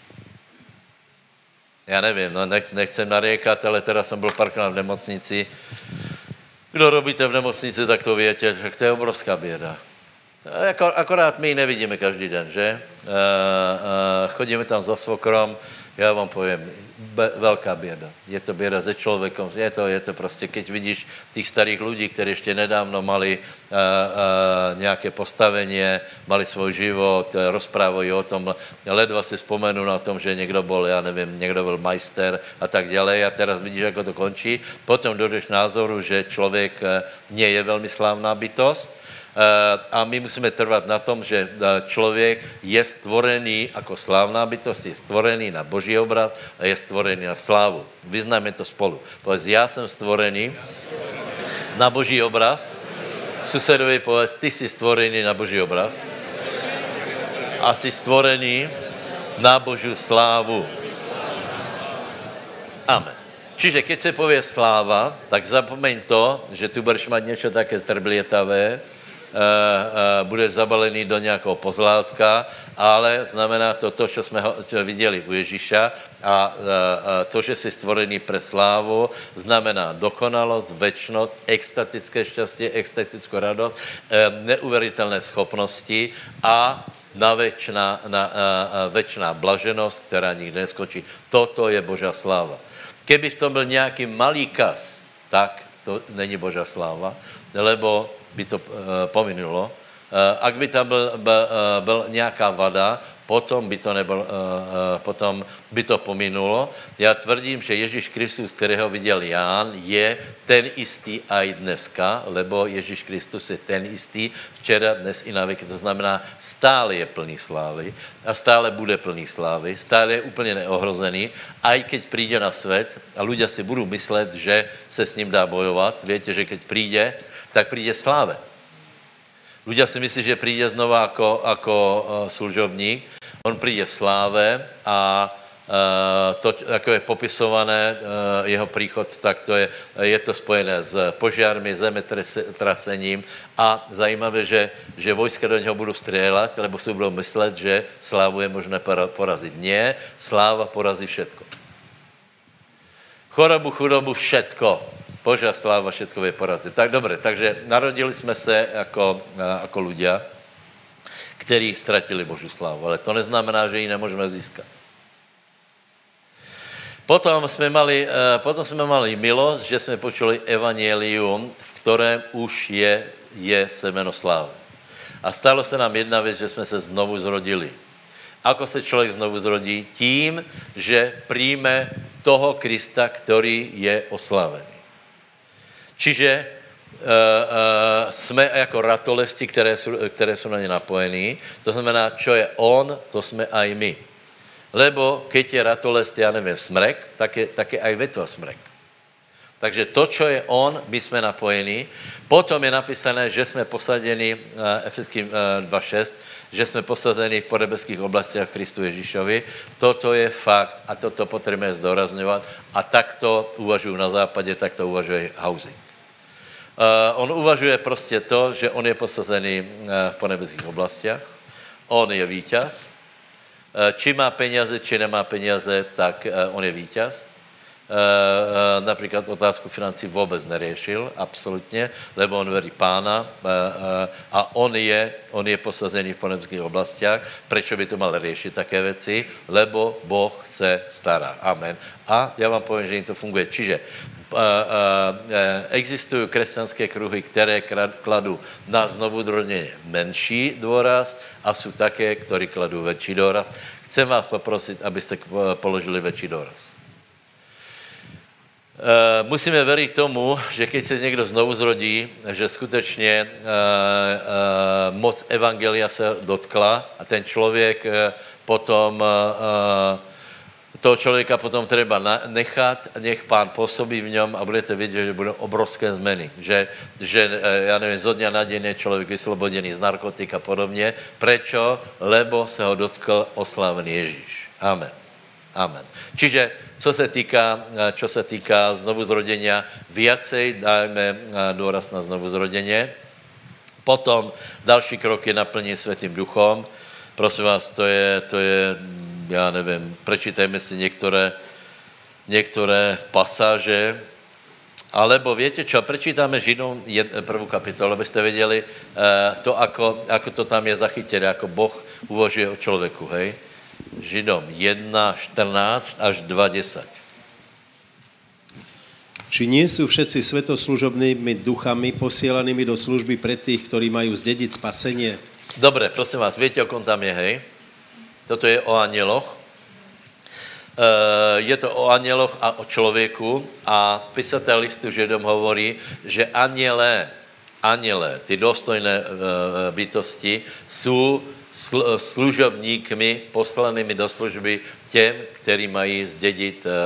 Ja neviem, no nech, nechcem nariekať, ale teraz som bol párkrát v nemocnici. Kdo robíte v nemocnici, tak to viete, že to je obrovská bieda. Akorát my nevidíme každý den, že? Chodíme tam za svokrom, já vám poviem, be, veľká bieda. Je to bieda se človekom, je to, je to prostě, keď vidíš tých starých ľudí, ktorí ešte nedávno mali uh, uh, nejaké postavenie, mali svoj život, rozprávajú o tom, ledva si spomenú na tom, že niekto bol, ja neviem, niekto bol majster a tak ďalej a teraz vidíš, ako to končí. Potom dojdeš názoru, že človek nie je veľmi slávná bytosť, a my musíme trvať na tom, že človek je stvorený ako slávna bytosť, je stvorený na Boží obraz a je stvorený na slávu. Vyznajme to spolu. Povedz, ja som stvorený na Boží obraz. Susedovi povedz, ty si stvorený na Boží obraz a si stvorený na Božiu slávu. Amen. Čiže keď sa povie sláva, tak zapomeň to, že tu budeš mať niečo také strblietavé, Uh, uh, budeš zabalený do nějakého pozlátka, ale znamená to to, čo jsme ho, čo viděli u Ježíša a uh, uh, to, že jsi stvorený pre slávu, znamená dokonalost, večnost, extatické šťastie, extatickou radost, uh, neuveriteľné schopnosti a na večná, na, uh, uh, večná blaženost, která nikdy neskončí. Toto je Božá sláva. Keby v tom byl nějaký malý kas, tak to není Božá sláva, lebo by to uh, pominulo. Uh, ak by tam byl, byl, uh, byl nějaká vada, potom by to nebyl, uh, uh, potom by to pominulo. Já tvrdím, že Ježíš Kristus, kterého viděl Ján, je ten istý aj dneska, lebo Ježíš Kristus je ten istý včera, dnes i na věky. To znamená, stále je plný slávy a stále bude plný slávy, stále je úplně neohrozený, aj keď príde na svět a ľudia si budou myslet, že se s ním dá bojovat. Viete, že keď príde, tak príde sláve. Ľudia si myslí, že príde znova ako, ako uh, služobník. On príde v sláve a uh, to, ako je popisované, uh, jeho príchod, tak to je, je to spojené s požiarmi, zemetrasením a zajímavé, že, že vojska do něho budou strieľať, lebo si budou myslet, že slávu je možné porazit. Nie, sláva porazí všetko. Chorobu, chudobu, všetko. Božia sláva, všetko vie poraziť. Tak dobre, takže narodili sme sa ako, ako ľudia, ktorí stratili Božiu slávu, ale to neznamená, že ji nemôžeme získať. Potom sme mali, potom sme mali milosť, že sme počuli evangelium, v ktorém už je, je semeno slávy. A stalo sa nám jedna vec, že sme sa znovu zrodili. Ako sa človek znovu zrodí? Tím, že príjme toho Krista, ktorý je oslavený. Čiže uh, uh, jsme jako ratolesti, které jsou, které jsou na ně napojení. To znamená, čo je on, to jsme aj my. Lebo keď je ratolest, ja neviem, smrek, tak je, tak je aj vetva smrek. Takže to, čo je on, my sme napojení. Potom je napísané, že sme posadení, Efeským dva šesť, že sme posadení v podebeských oblastiach v Kristu Ježišovi. Toto je fakt a toto potrebujeme zdôrazňovať. A takto uvažujú na západe, takto uvažuje Housing. Uh, on uvažuje prostě to, že on je posazený uh, v podebeských oblastiach. On je víťaz. Uh, či má peniaze, či nemá peniaze, tak uh, on je víťaz. Uh, uh, napríklad otázku financí vôbec neriešil, absolútne, lebo on verí pána uh, uh, a on je, on je posazený v podebeských oblastiach. Prečo by to mal riešiť také veci? Lebo Boh se stará. Amen. A ja vám poviem, že im to funguje. Čiže Uh, uh, existujú kresťanské kruhy, ktoré kladú na znovuzrodenie menší dôraz a sú také, ktorí kladú väčší dôraz. Chcem vás poprosiť, aby ste položili väčší dôraz. Uh, musíme veriť tomu, že keď sa niekto znovu zrodí, že skutečne uh, uh, moc evangelia sa dotkla a ten človek uh, potom uh, uh, toho človeka potom treba nechať, nech pán pôsobí v ňom a budete vidieť, že budú obrovské zmeny. Že, že ja neviem, zo dňa na deň je človek vyslobodený z narkotik a podobne. Prečo? Lebo sa ho dotkl oslávený Ježíš. Amen. Amen. Čiže, co sa týka, čo sa týka znovuzrodenia, viacej dajme dôraz na znovuzrodenie. Potom další krok je naplnenie Svätým duchom. Prosím vás, to je... To je ja neviem, prečítajme si niektoré, niektoré pasáže, alebo viete čo, prečítame Židom prvú kapitolu, aby ste vedeli to, ako, ako to tam je zachytené, ako Boh uvažuje o človeku, hej. Židom jedna štrnásť až dva desať. Či nie sú všetci svetoslužobnými duchami posielanými do služby pre tých, ktorí majú zdediť spasenie? Dobre, prosím vás, viete, o kom tam je, hej? Toto je o anieloch. Uh, je to o anieloch a o človeku a písateľ listu Židom hovorí, že aniele, aniele, ty dôstojné uh, bytosti sú sl- služobníkmi poslanými do služby těm, ktorí mají zdediť uh, uh,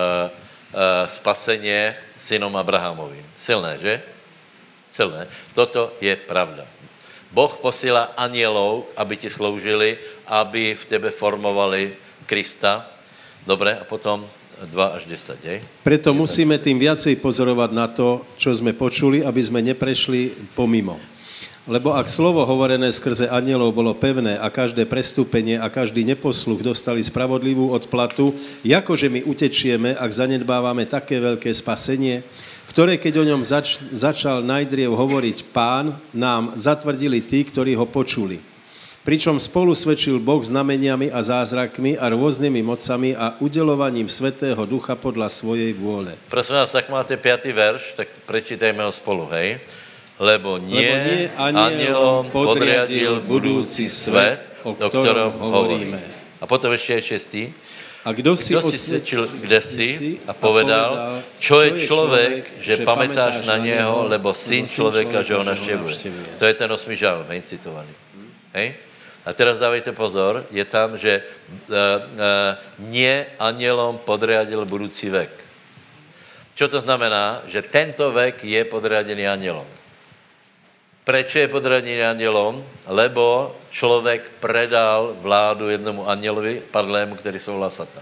spasenie synom Abrahamovým. Silné, že? Silné. Toto je pravda. Boh posílá anielov, aby ti sloužili, aby v tebe formovali Krista. Dobre, a potom dva až desať, hej? Preto musíme tým viacej pozorovať na to, čo sme počuli, aby sme neprešli pomimo. Lebo ak slovo hovorené skrze anielov bolo pevné a každé prestúpenie a každý neposluch dostali spravodlivú odplatu, jakože my utečieme, ak zanedbávame také veľké spasenie, ktoré, keď o ňom zač- začal najdriev hovoriť Pán, nám zatvrdili tí, ktorí ho počuli. Pričom spolu svedčil Boh znameniami a zázrakmi a rôznymi mocami a udelovaním Svätého Ducha podľa svojej vôle. Prosím vás, ak máte piatý verš, tak prečítajme ho spolu, hej? Lebo nie, Lebo nie anielom podriadil budúci svet, o ktorom hovoríme. A potom ešte aj šestý. A kdo si, kdo si svedčil kdesi a povedal, čo je človek, že pamätáš na něho, lebo syn človeka, že ho navštevuje. To je ten osmý žalm, hej, citovaný. Hej? A teraz dávajte pozor, je tam, že uh, uh, nie anielom podriadil budúci vek. Čo to znamená? Že tento vek je podriadený anielom. Prečo je podriadený anielom? Lebo človek predal vládu jednomu anielovi, padlému, ktorý sa volá Satan.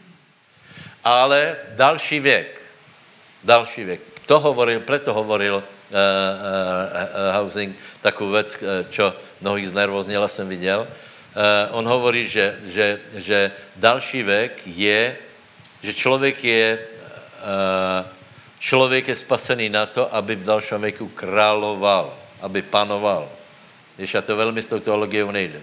Ale další vek, další vek, to hovoril, preto hovoril uh, uh, uh, Housing takú vec, uh, čo mnohých znervoznila, som videl. Uh, on hovorí, že, že, že další vek je, že človek je, uh, človek je spasený na to, aby v dalšom veku kráľoval, aby panoval. Víš, a to veľmi s tou teologiou nejde.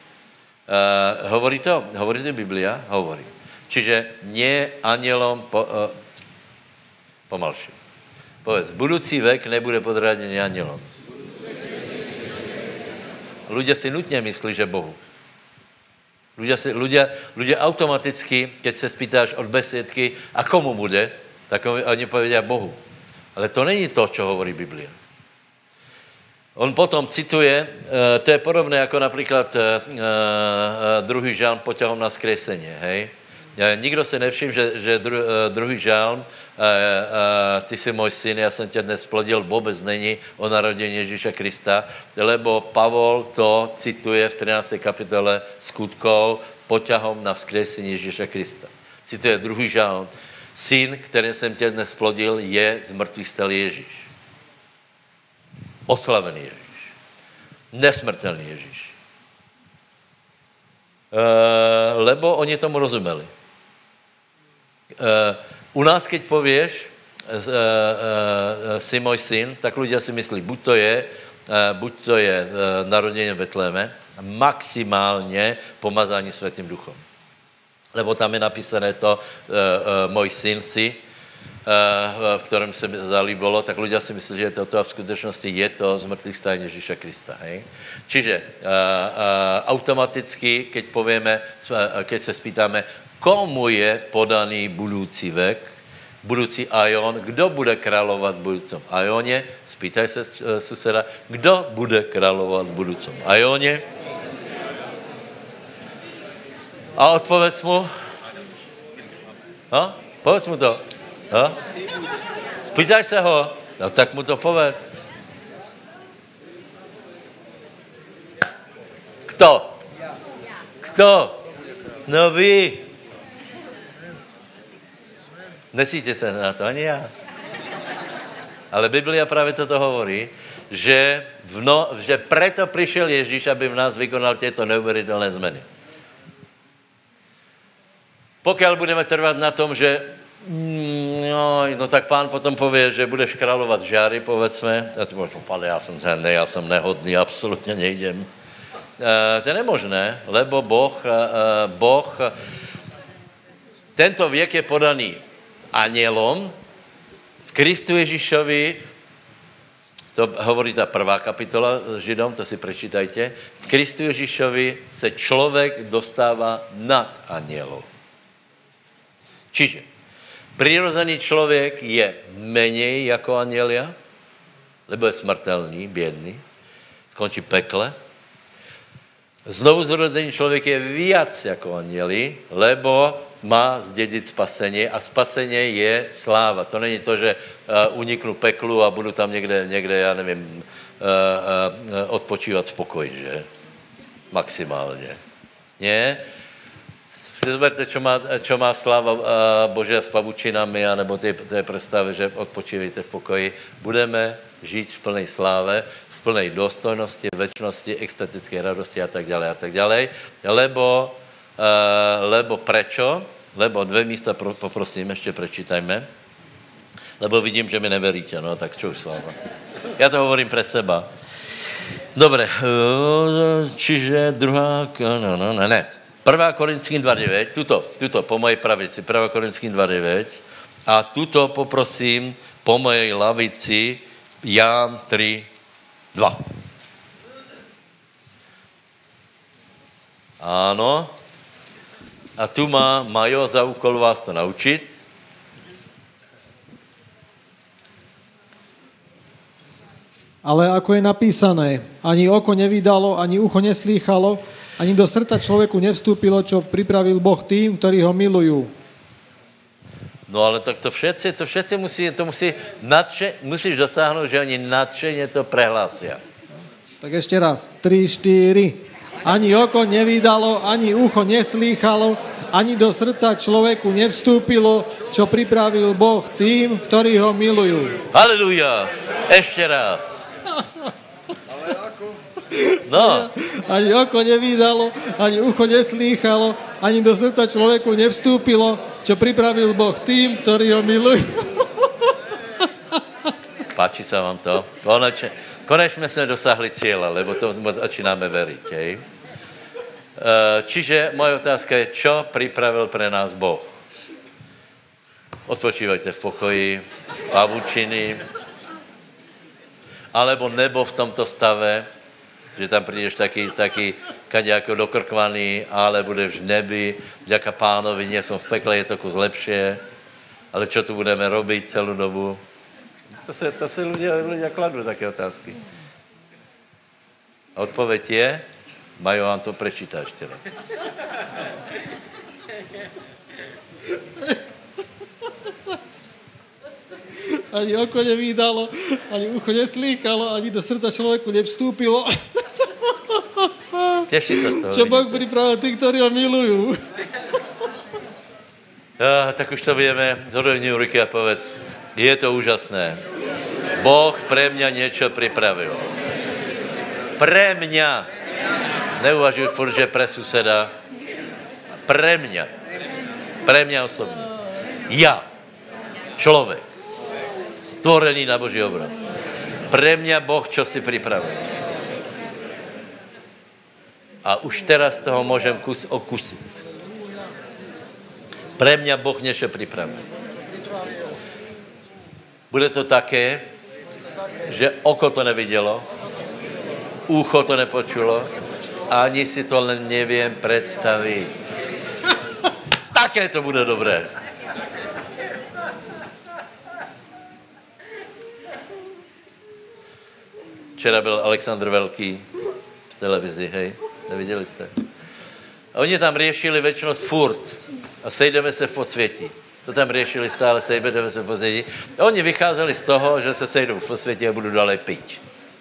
Uh, hovorí to? Hovorí to Biblia? Hovorí. Čiže nie anielom... Po, uh, pomalšie. Povedz, budúci vek nebude podriadený anielom. Ľudia si nutne myslí, že Bohu. Ľudia, si, ľudia, ľudia automaticky, keď sa spýtáš od besiedky, a komu bude, tak oni povedia Bohu. Ale to není to, čo hovorí Biblia. On potom cituje, to je podobné jako například druhý žalm poťahom na skresenie, hej? Nikdo si nevšiml, že, že dru, druhý žalm, ty si můj syn, já jsem tě dnes plodil, vůbec není o narodení Ježíša Krista, lebo Pavol to cituje v třinácté kapitole Skutkov poťahom na vzkriesení Ježíša Krista. Cituje druhý žalm. Syn, který jsem tě dnes plodil, je z mrtvých stal Ježíš. Oslavený Ježíš. Nesmrtelný Ježíš. E, lebo oni tomu rozumeli. E, u nás, keď povieš, e, e, si můj syn, tak ľudia si myslí, buď to je, e, buď to je e, narodenie v Betléme, maximálně pomazání Svätým duchom. Lebo tam je napísané to, e, e, můj syn si, v kterém se mi zalíbilo, tak ľudia si myslí, že toto a v skutečnosti je to z mrtvých stání Ježíša Krista. Hej? Čiže uh, uh, automaticky, keď povieme, keď se spýtáme, komu je podaný budoucí vek, budoucí Aion, kdo bude královat v budoucím Aioně, spýtaj se uh, suseda, kdo bude královat v budoucím Aioně? A odpověď mu? Ha? Povedz mu to. Ha? Spýtaj se ho. No tak mu to povedz. Kto? Kto? No vy. Nesíte se na to, ani já. Ale Biblia právě toto hovorí, že, v no, že preto přišel Ježíš, aby v nás vykonal těto neuvěřitelné změny. Pokud budeme trvat na tom, že no, no tak pán potom povie, že budeš královat žáry, povedzme. A ty môžeš, pane, já jsem ten, já jsem nehodný, absolutně nejdem. E, to je nemožné, lebo Boh, e, Boh, tento věk je podaný anielom, v Kristu Ježíšovi, to hovorí ta prvá kapitola Židom, to si prečítajte, v Kristu Ježíšovi se člověk dostává nad anielov. Čiže přirozený člověk je menej jako anielia, lebo je smrtelný, bědný, skončí pekle. Znovu zrozený člověk je víc jako anieli, lebo má zdědit spasení a spasení je sláva. To není to, že uh, uniknu peklu a budu tam někde, někde já nevím, uh, uh, odpočívat v pokoji, že? Maximálně. Nie? Si zoberte, čo má, čo má sláva uh, Božia s pavučinami, anebo té, té predstave, že odpočívejte v pokoji. Budeme žít v plnej sláve, v plnej důstojnosti, večnosti, extatické radosti a tak ďalej a tak ďalej. Lebo, uh, lebo prečo? Lebo dvě místa pro, poprosím, ještě prečítajme. Lebo vidím, že mi neveríte, no tak čo už s váma. Já to hovorím pre seba. Dobre, uh, čiže druhá, no, no, ne, ne. prvá Korinským dva devět, tuto, tuto po mojej pravici, prvá Korinským dva devět a tuto poprosím po mojej lavici Ján tři dva. Áno. A tu má Majo za úkol vás to naučit. Ale ako je napísané, ani oko nevydalo, ani ucho neslýchalo, ani do srdca človeku nevstúpilo, čo pripravil Boh tým, ktorí ho milujú. No ale tak to všetci, to všetci musí, to musí nadše, musíš dosáhnout, že oni nadšeně to prehlásia. Tak ešte raz. tri, štyri. Ani oko nevydalo, ani ucho neslýchalo, ani do srdca človeku nevstúpilo, čo pripravil Boh tým, ktorí ho milujú. Haleluja. Ešte raz. Ale ako? No. Ani oko nevydalo, ani ucho neslýchalo, ani do srdca človeku nevstúpilo, čo pripravil Boh tým, ktorí ho milujú. Páči sa vám to? Konečne, konečne sme dosahli cieľa, lebo to začínáme veriť. Hej? Čiže moja otázka je, čo pripravil pre nás Boh? Odpočívajte v pokoji, pavučiny, alebo nebo v tomto stave, že tam prídeš taký, taký kaďako dokrkvaný, ale budeš v nebi, vďaka pánovi, nie som v pekle, je to kus lepšie, ale čo tu budeme robiť celú dobu? To se, to se ľudia, ľudia kladú také otázky. A odpoveď je, Majo vám to prečíta ešte raz. Ani oko nevídalo, ani ucho neslýchalo, ani do srdca človeku nevstúpilo. Teší sa z toho. Čo Boh pripravil tí, ktorí ho milujú. Ja, tak už to vieme. Zhodovni ruky a povedz, je to úžasné. Boh pre mňa niečo pripravil. Pre mňa. Neuvažuj furt, že pre suseda. Pre mňa. Pre mňa osobne. Ja. Človek. Stvorený na Boží obraz. Pre mňa Boh čo si pripravil. A už teraz toho môžem kus okusiť. Pre mňa Boh niečo pripravil. Bude to také, že oko to nevidelo, ucho to nepočulo, ani si to len neviem predstaviť. Také to bude dobré. Včera byl Alexandr Velký v televizi, hej? Neviděli jste? A oni tam riešili večnosť furt a sejdeme se v podsvětí. To tam riešili stále, sejdeme se v podsvětí. A oni vycházeli z toho, že se sejdou v podsvětí a budou dále piť.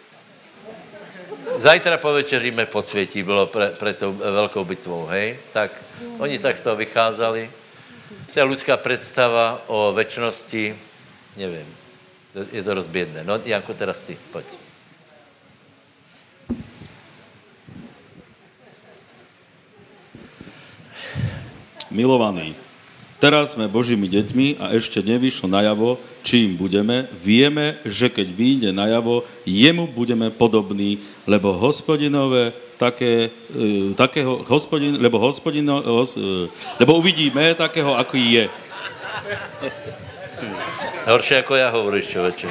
Zajtra povečeríme v podsvětí, bylo pre, pre tou velkou bitvou, hej? Tak oni tak z toho vycházeli. To je ľudská predstava o večnosti, nevím, je to rozbiedné. No, Janko, teraz ty, poď. Milovaní, teraz sme Božími deťmi a ešte nevyšlo najavo, čím budeme. Vieme, že keď vyjde najavo, jemu budeme podobní, lebo hospodinové také, e, takého, hospodin, lebo hospodino, hos, e, lebo uvidíme takého, aký je. Horšie ako ja hovoríš, človeče.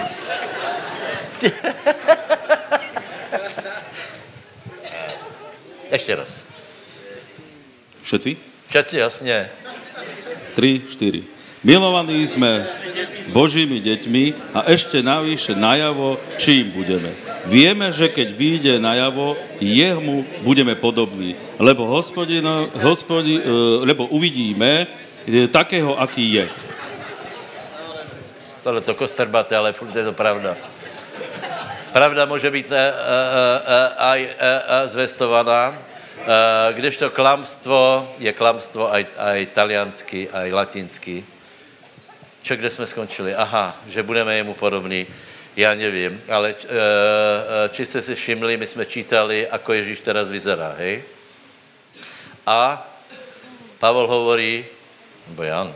Ešte raz. Všetci? Všetci, jasne. tri, štyri. Milovaní sme Božími deťmi a ešte navyše najavo, čím budeme. Vieme, že keď vyjde najavo, jemu budeme podobní, lebo, hospodino, hospodi, lebo uvidíme takého, aký je. Tohle to kostrbaté, ale furt je to pravda. Pravda môže byť uh, uh, uh, aj uh, uh, zvestovaná, Uh, kdežto klamstvo je klamstvo aj, aj taliansky, aj latinsky. Čo, kde sme skončili? Aha, že budeme jemu podobní. Ja neviem, ale uh, či ste si všimli, my sme čítali, ako Ježíš teraz vyzerá, hej? A Pavol hovorí, nebo Jan,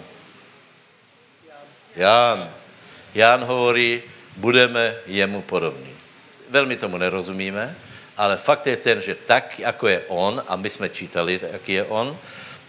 Jan, Jan hovorí, budeme jemu podobní. Veľmi tomu nerozumíme, ale fakt je ten, že tak, ako je on, a my sme čítali, aký je on,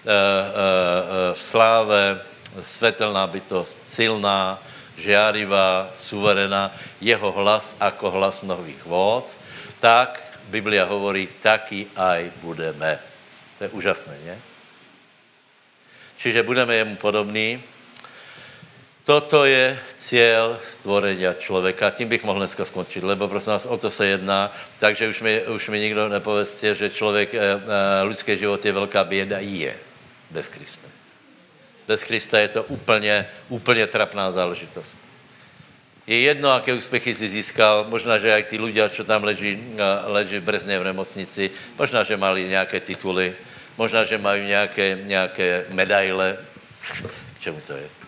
v sláve, svetelná bytosť, silná, žiarivá, suverená, jeho hlas ako hlas mnohých vôd, tak Biblia hovorí, taký aj budeme. To je úžasné, nie? Čiže budeme jemu podobní. Toto je cieľ stvorenia človeka. Tím bych mohl dneska skončiť, lebo prosím vás, o to se jedná. Takže už mi, už mi nikdo nepovedzte, že člověk, ľudský život je velká bieda. Je. Bez Krista. Bez Krista je to úplně, úplně trapná záležitost. Je jedno, aké úspěchy si získal. Možná, že aj tí ľudia, čo tam leží, leží v Brezne v nemocnici, možná, že mali nějaké tituly, možná, že mají nějaké, nějaké medaile. K čemu to je?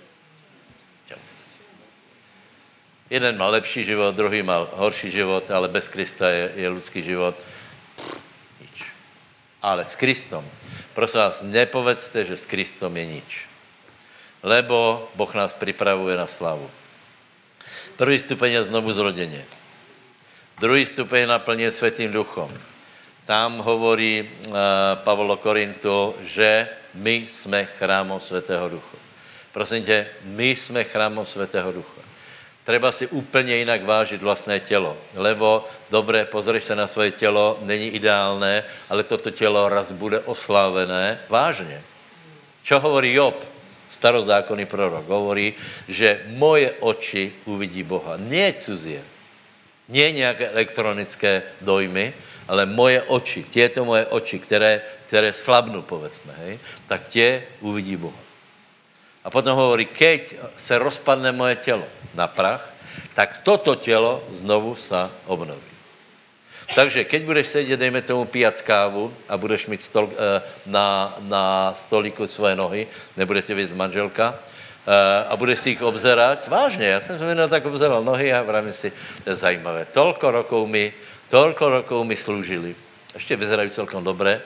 Jeden má lepší život, druhý má horší život, ale bez Krista je, je ľudský život. Nič. Ale s Kristom, prosím vás, nepovedzte, že s Kristom je nič. Lebo Boh nás pripravuje na slavu. Prvý stupeň je znovu zrodenie. Druhý stupeň je naplnenie Svätým duchom. Tam hovorí uh, Pavol Korintu, že my sme chrámom Svätého ducha. Prosím te, my sme chrámom Svätého ducha. Treba si úplně jinak vážit vlastné tělo, lebo dobré, pozrieš se na svoje tělo, není ideálné, ale toto tělo raz bude oslávené vážně. Čo hovorí Job, starozákonný prorok? Hovorí, že moje oči uvidí Boha. Nie cudzie, nie nějaké elektronické dojmy, ale moje oči, tieto moje oči, které, které slabnú, povedzme, hej, tak tie uvidí Boha. A potom hovorí, keď se rozpadne moje tělo na prach, tak toto tělo znovu sa obnoví. Takže keď budeš sedět, dejme tomu, pijat kávu a budeš mít stol, na, na stolíku svoje nohy, nebude tě vidět manželka, a budeš si ich obzerať, vážně, já jsem se tak obzeral nohy a vravím si, to je zajímavé, toľko rokov mi, toľko rokov mi slúžili, ještě vyzerají celkom dobré,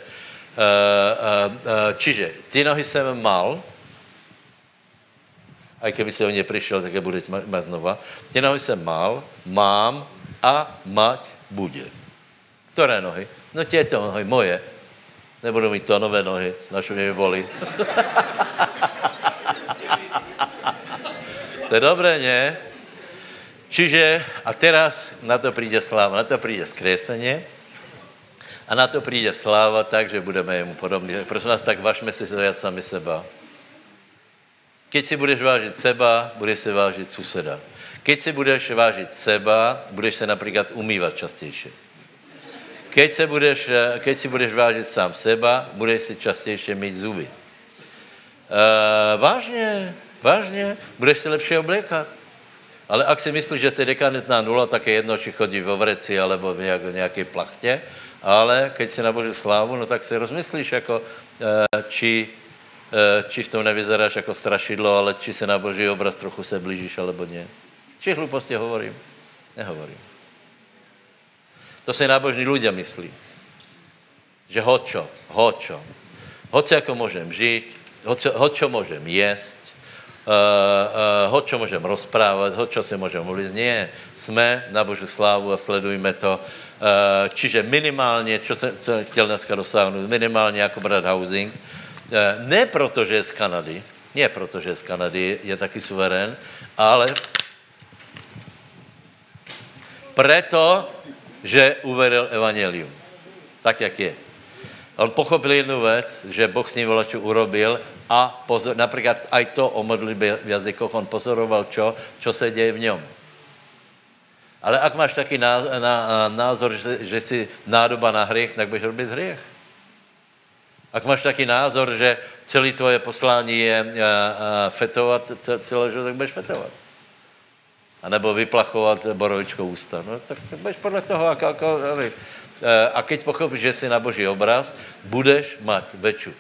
čiže ty nohy jsem mal, aj keby si o ně přišel, tak je bude mať znova, ty nohy jsem mal, mám a mať bude. Ktoré nohy? No tieto nohy, moje. Nebudu mít to nové nohy, našo mě bolí. To je dobré, nie? Čiže, a teraz na to príde sláva, na to príde skresenie a na to príde sláva tak, že budeme jemu podobní. Prosím vás, tak vážme si viac sami seba. Keď si budeš vážiť seba, budeš si vážiť suseda. Keď si budeš vážiť seba, budeš se napríklad umývať častejšie. Keď, se budeš, keď si budeš vážiť sám seba, budeš si častejšie myť zuby. E, vážne, vážne, budeš si lepšie obliekať. Ale ak si myslíš, že si dekadentná nula, tak je jedno, či chodí vo vreci alebo v nejakej plachtě, ale keď si na Božiu slávu, no tak si rozmyslíš, jako, či, či v tom nevyzeráš jako strašidlo, ale či se na Boží obraz trochu se blížíš, alebo nie. Či hluposti hovorím? Nehovorím. To si nábožní ľudia myslí. Že hočo, hočo. Hoci ako môžem žiť, hoci, hočo môžem jesť, uh, uh, hočo môžem rozprávať, hočo si môžem uvliť. Nie, sme na Božiu slávu a sledujme to. Uh, čiže minimálne, čo som chtěl dneska dosáhnuť, minimálne ako brať housing, uh, ne proto, že je z Kanady, nie proto, že je z Kanady, je taký suverén, ale preto, že uveril evangelium. Tak, jak je. On pochopil jednu vec, že Boh s ním volačo urobil a pozor, napríklad aj to o modlitbe v jazykoch, on pozoroval čo, čo sa deje v ňom. Ale ak máš taký názor, že, že si nádoba na hriech, tak budeš robiť hriech. Ak máš taký názor, že celé tvoje poslání je fetovať celé život, tak budeš fetovať. A nebo vyplachovat borovičkou ústa. No, tak, tak budeš podle toho, ako, ako, a keď pochopíš, že si na Boží obraz, budeš mať väčšiu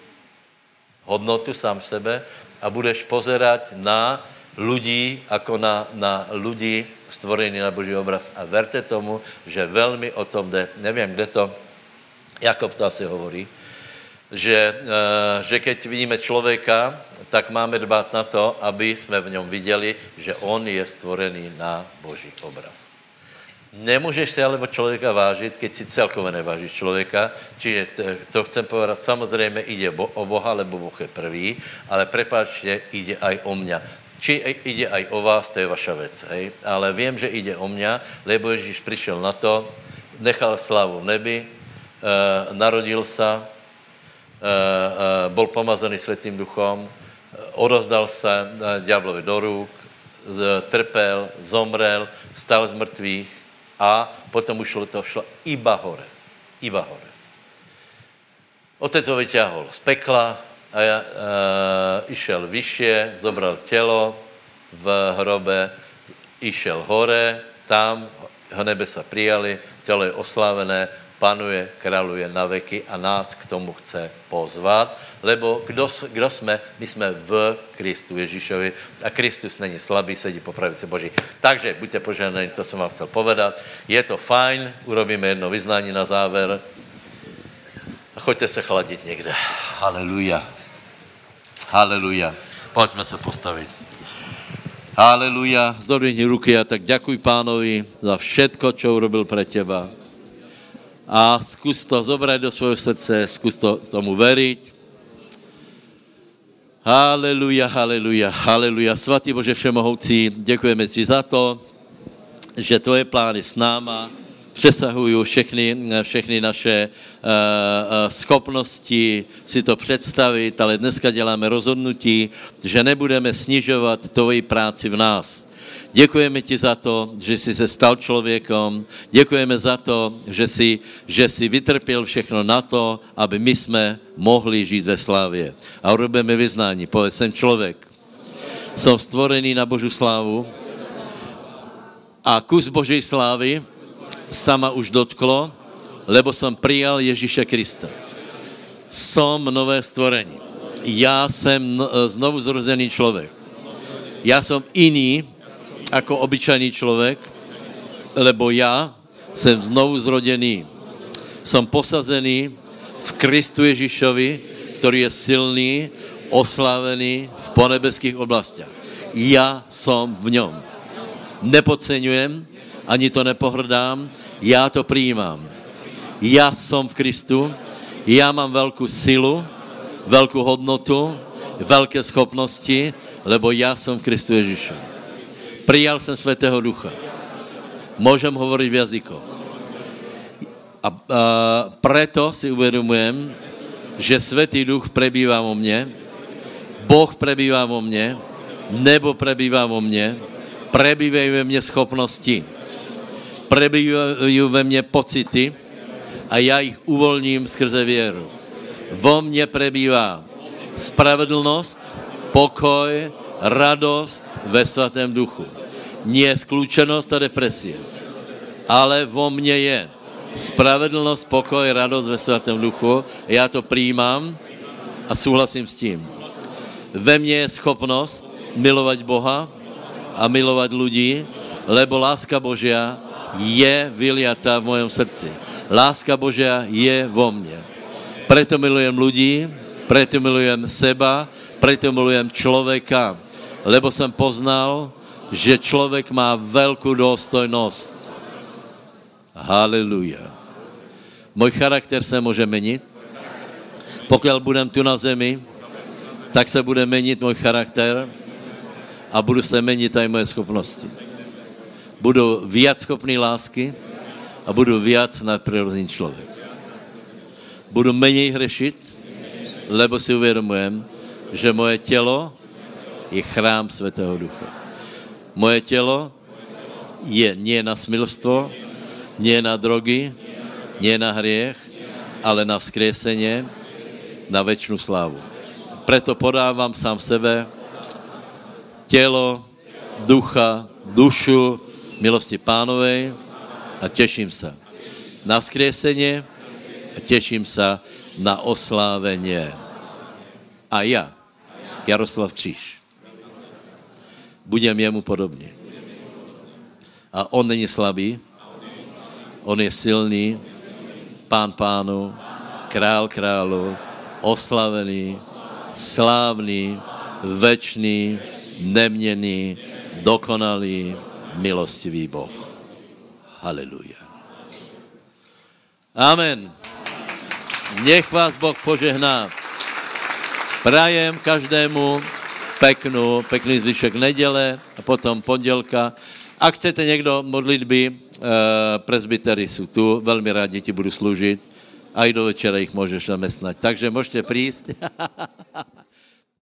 hodnotu sám sebe a budeš pozerať na ľudí, ako na, na ľudí stvorení na Boží obraz. A verte tomu, že veľmi o tom jde. Neviem, kde to, Jakob to asi hovorí, že, že keď vidíme člověka, tak máme dbát na to, aby jsme v něm viděli, že on je stvorený na Boží obraz. Nemůžeš si ale od člověka vážit, keď si celkově nevážíš člověka, čiže to chcem povedať, samozřejmě ide o Boha, lebo Boh je prvý, ale prepáčte, ide aj o mňa. Či ide aj o vás, to je vaša vec, hej? Ale vím, že ide o mňa, lebo Ježíš přišel na to, nechal slávu v nebi, narodil sa, Uh, uh, bol pomazaný Svätým Duchom, odovzdal sa uh, diablovi do rúk, z, trpel, zomrel, stal z mŕtvych a potom už to šlo iba hore. Iba hore. Otec ho vyťahol z pekla a ja, uh, išel vyššie, zobral telo v hrobe, išel hore, tam ho nebesa prijali, telo je oslávené, panuje, kráľuje na veky a nás k tomu chce pozvat, lebo kdo, kdo jsme? My jsme v Kristu Ježíšovi a Kristus není slabý, sedí po pravici Boží. Takže buďte požehnaní, to jsem vám chcel povedat. Je to fajn, urobíme jedno vyznání na záver a choďte se chladit někde. Haleluja. Haleluja. Pojďme se postavit. Haleluja. Zdvihni ruky a tak ďakuj Pánovi za všetko, čo urobil pre teba. A zkus to zobrať do svojho srdce, zkus to tomu veriť. Haleluja, haleluja, haleluja. Svatý Bože všemohoucí, děkujeme ti za to, že tvoje plány s náma přesahují všechny, všechny naše uh, uh, schopnosti si to představit, ale dneska děláme rozhodnutí, že nebudeme snižovat tvoji práci v nás. Děkujeme ti za to, že jsi se stal člověkom. Děkujeme za to, že jsi, že jsi vytrpěl všechno na to, aby my jsme mohli žít ve slávě. A urobíme vyznání. Povedz, jsem člověk. Som stvorený na Božú slávu a kus Božej slávy sa ma už dotklo, lebo som prijal Ježíša Krista. Som nové stvorení. Ja som znovu zrozený človek. Ja som iný ako obyčajný človek, lebo ja som znovu zrodený. Som posazený v Kristu Ježišovi, ktorý je silný, oslávený v ponebeských oblastiach. Ja som v ňom. Nepodceňujem, ani to nepohrdám, ja to prijímam. Ja som v Kristu, ja mám veľkú silu, veľkú hodnotu, veľké schopnosti, lebo ja som v Kristu Ježišovi. Prijal som Svätého Ducha. Môžem hovoriť v jazykoch. A, a preto si uvedomujem, že Svätý Duch prebýva vo mne, Boh prebýva vo mne, nebo prebýva vo mne, prebývajú ve mne schopnosti, prebývajú ve mne pocity a ja ich uvoľním skrze vieru. Vo mne prebýva spravedlnosť, pokoj, radosť ve Svatém Duchu. Nie skľúčenosť a depresia, ale vo mne je spravedlnosť, pokoj, radosť ve Svatém Duchu. Ja to prijímam a súhlasím s tím. Ve mne je schopnosť milovať Boha a milovať ľudí, lebo láska Božia je vyliatá v mojom srdci. Láska Božia je vo mne. Preto milujem ľudí, preto milujem seba, preto milujem človeka, lebo som poznal, že človek má veľkú dôstojnosť. Haleluja. Môj charakter sa môže meniť. Pokiaľ budem tu na zemi, tak sa bude meniť môj charakter a budú sa meniť aj moje schopnosti. Budú viac schopný lásky a budú viac nadprirodzený človek. Budú menej hrešiť, lebo si uvedomujem, že moje telo je chrám Svätého Ducha. Moje telo je nie na smilstvo, nie na drogy, nie na hriech, ale na vzkriesenie, na večnú slávu. Preto podávam sám sebe telo, ducha, dušu milosti Pánovej a teším sa na vzkriesenie a teším sa na oslávenie. A ja, Jaroslav Kříž, budem jemu podobný. A on není slabý, on je silný, Pán pánu, král králu, oslavený, slávny, večný, neměný, dokonalý, milostivý Boh. Haleluja. Amen. Nech vás Boh požehná. Prajem každému peknú, pekný zvyšek nedele a potom pondelka. Ak chcete niekto modlitby, e, presbytery sú tu, veľmi rádi ti budú slúžiť. Aj do večera ich môžeš zamestnať. Takže môžete prísť.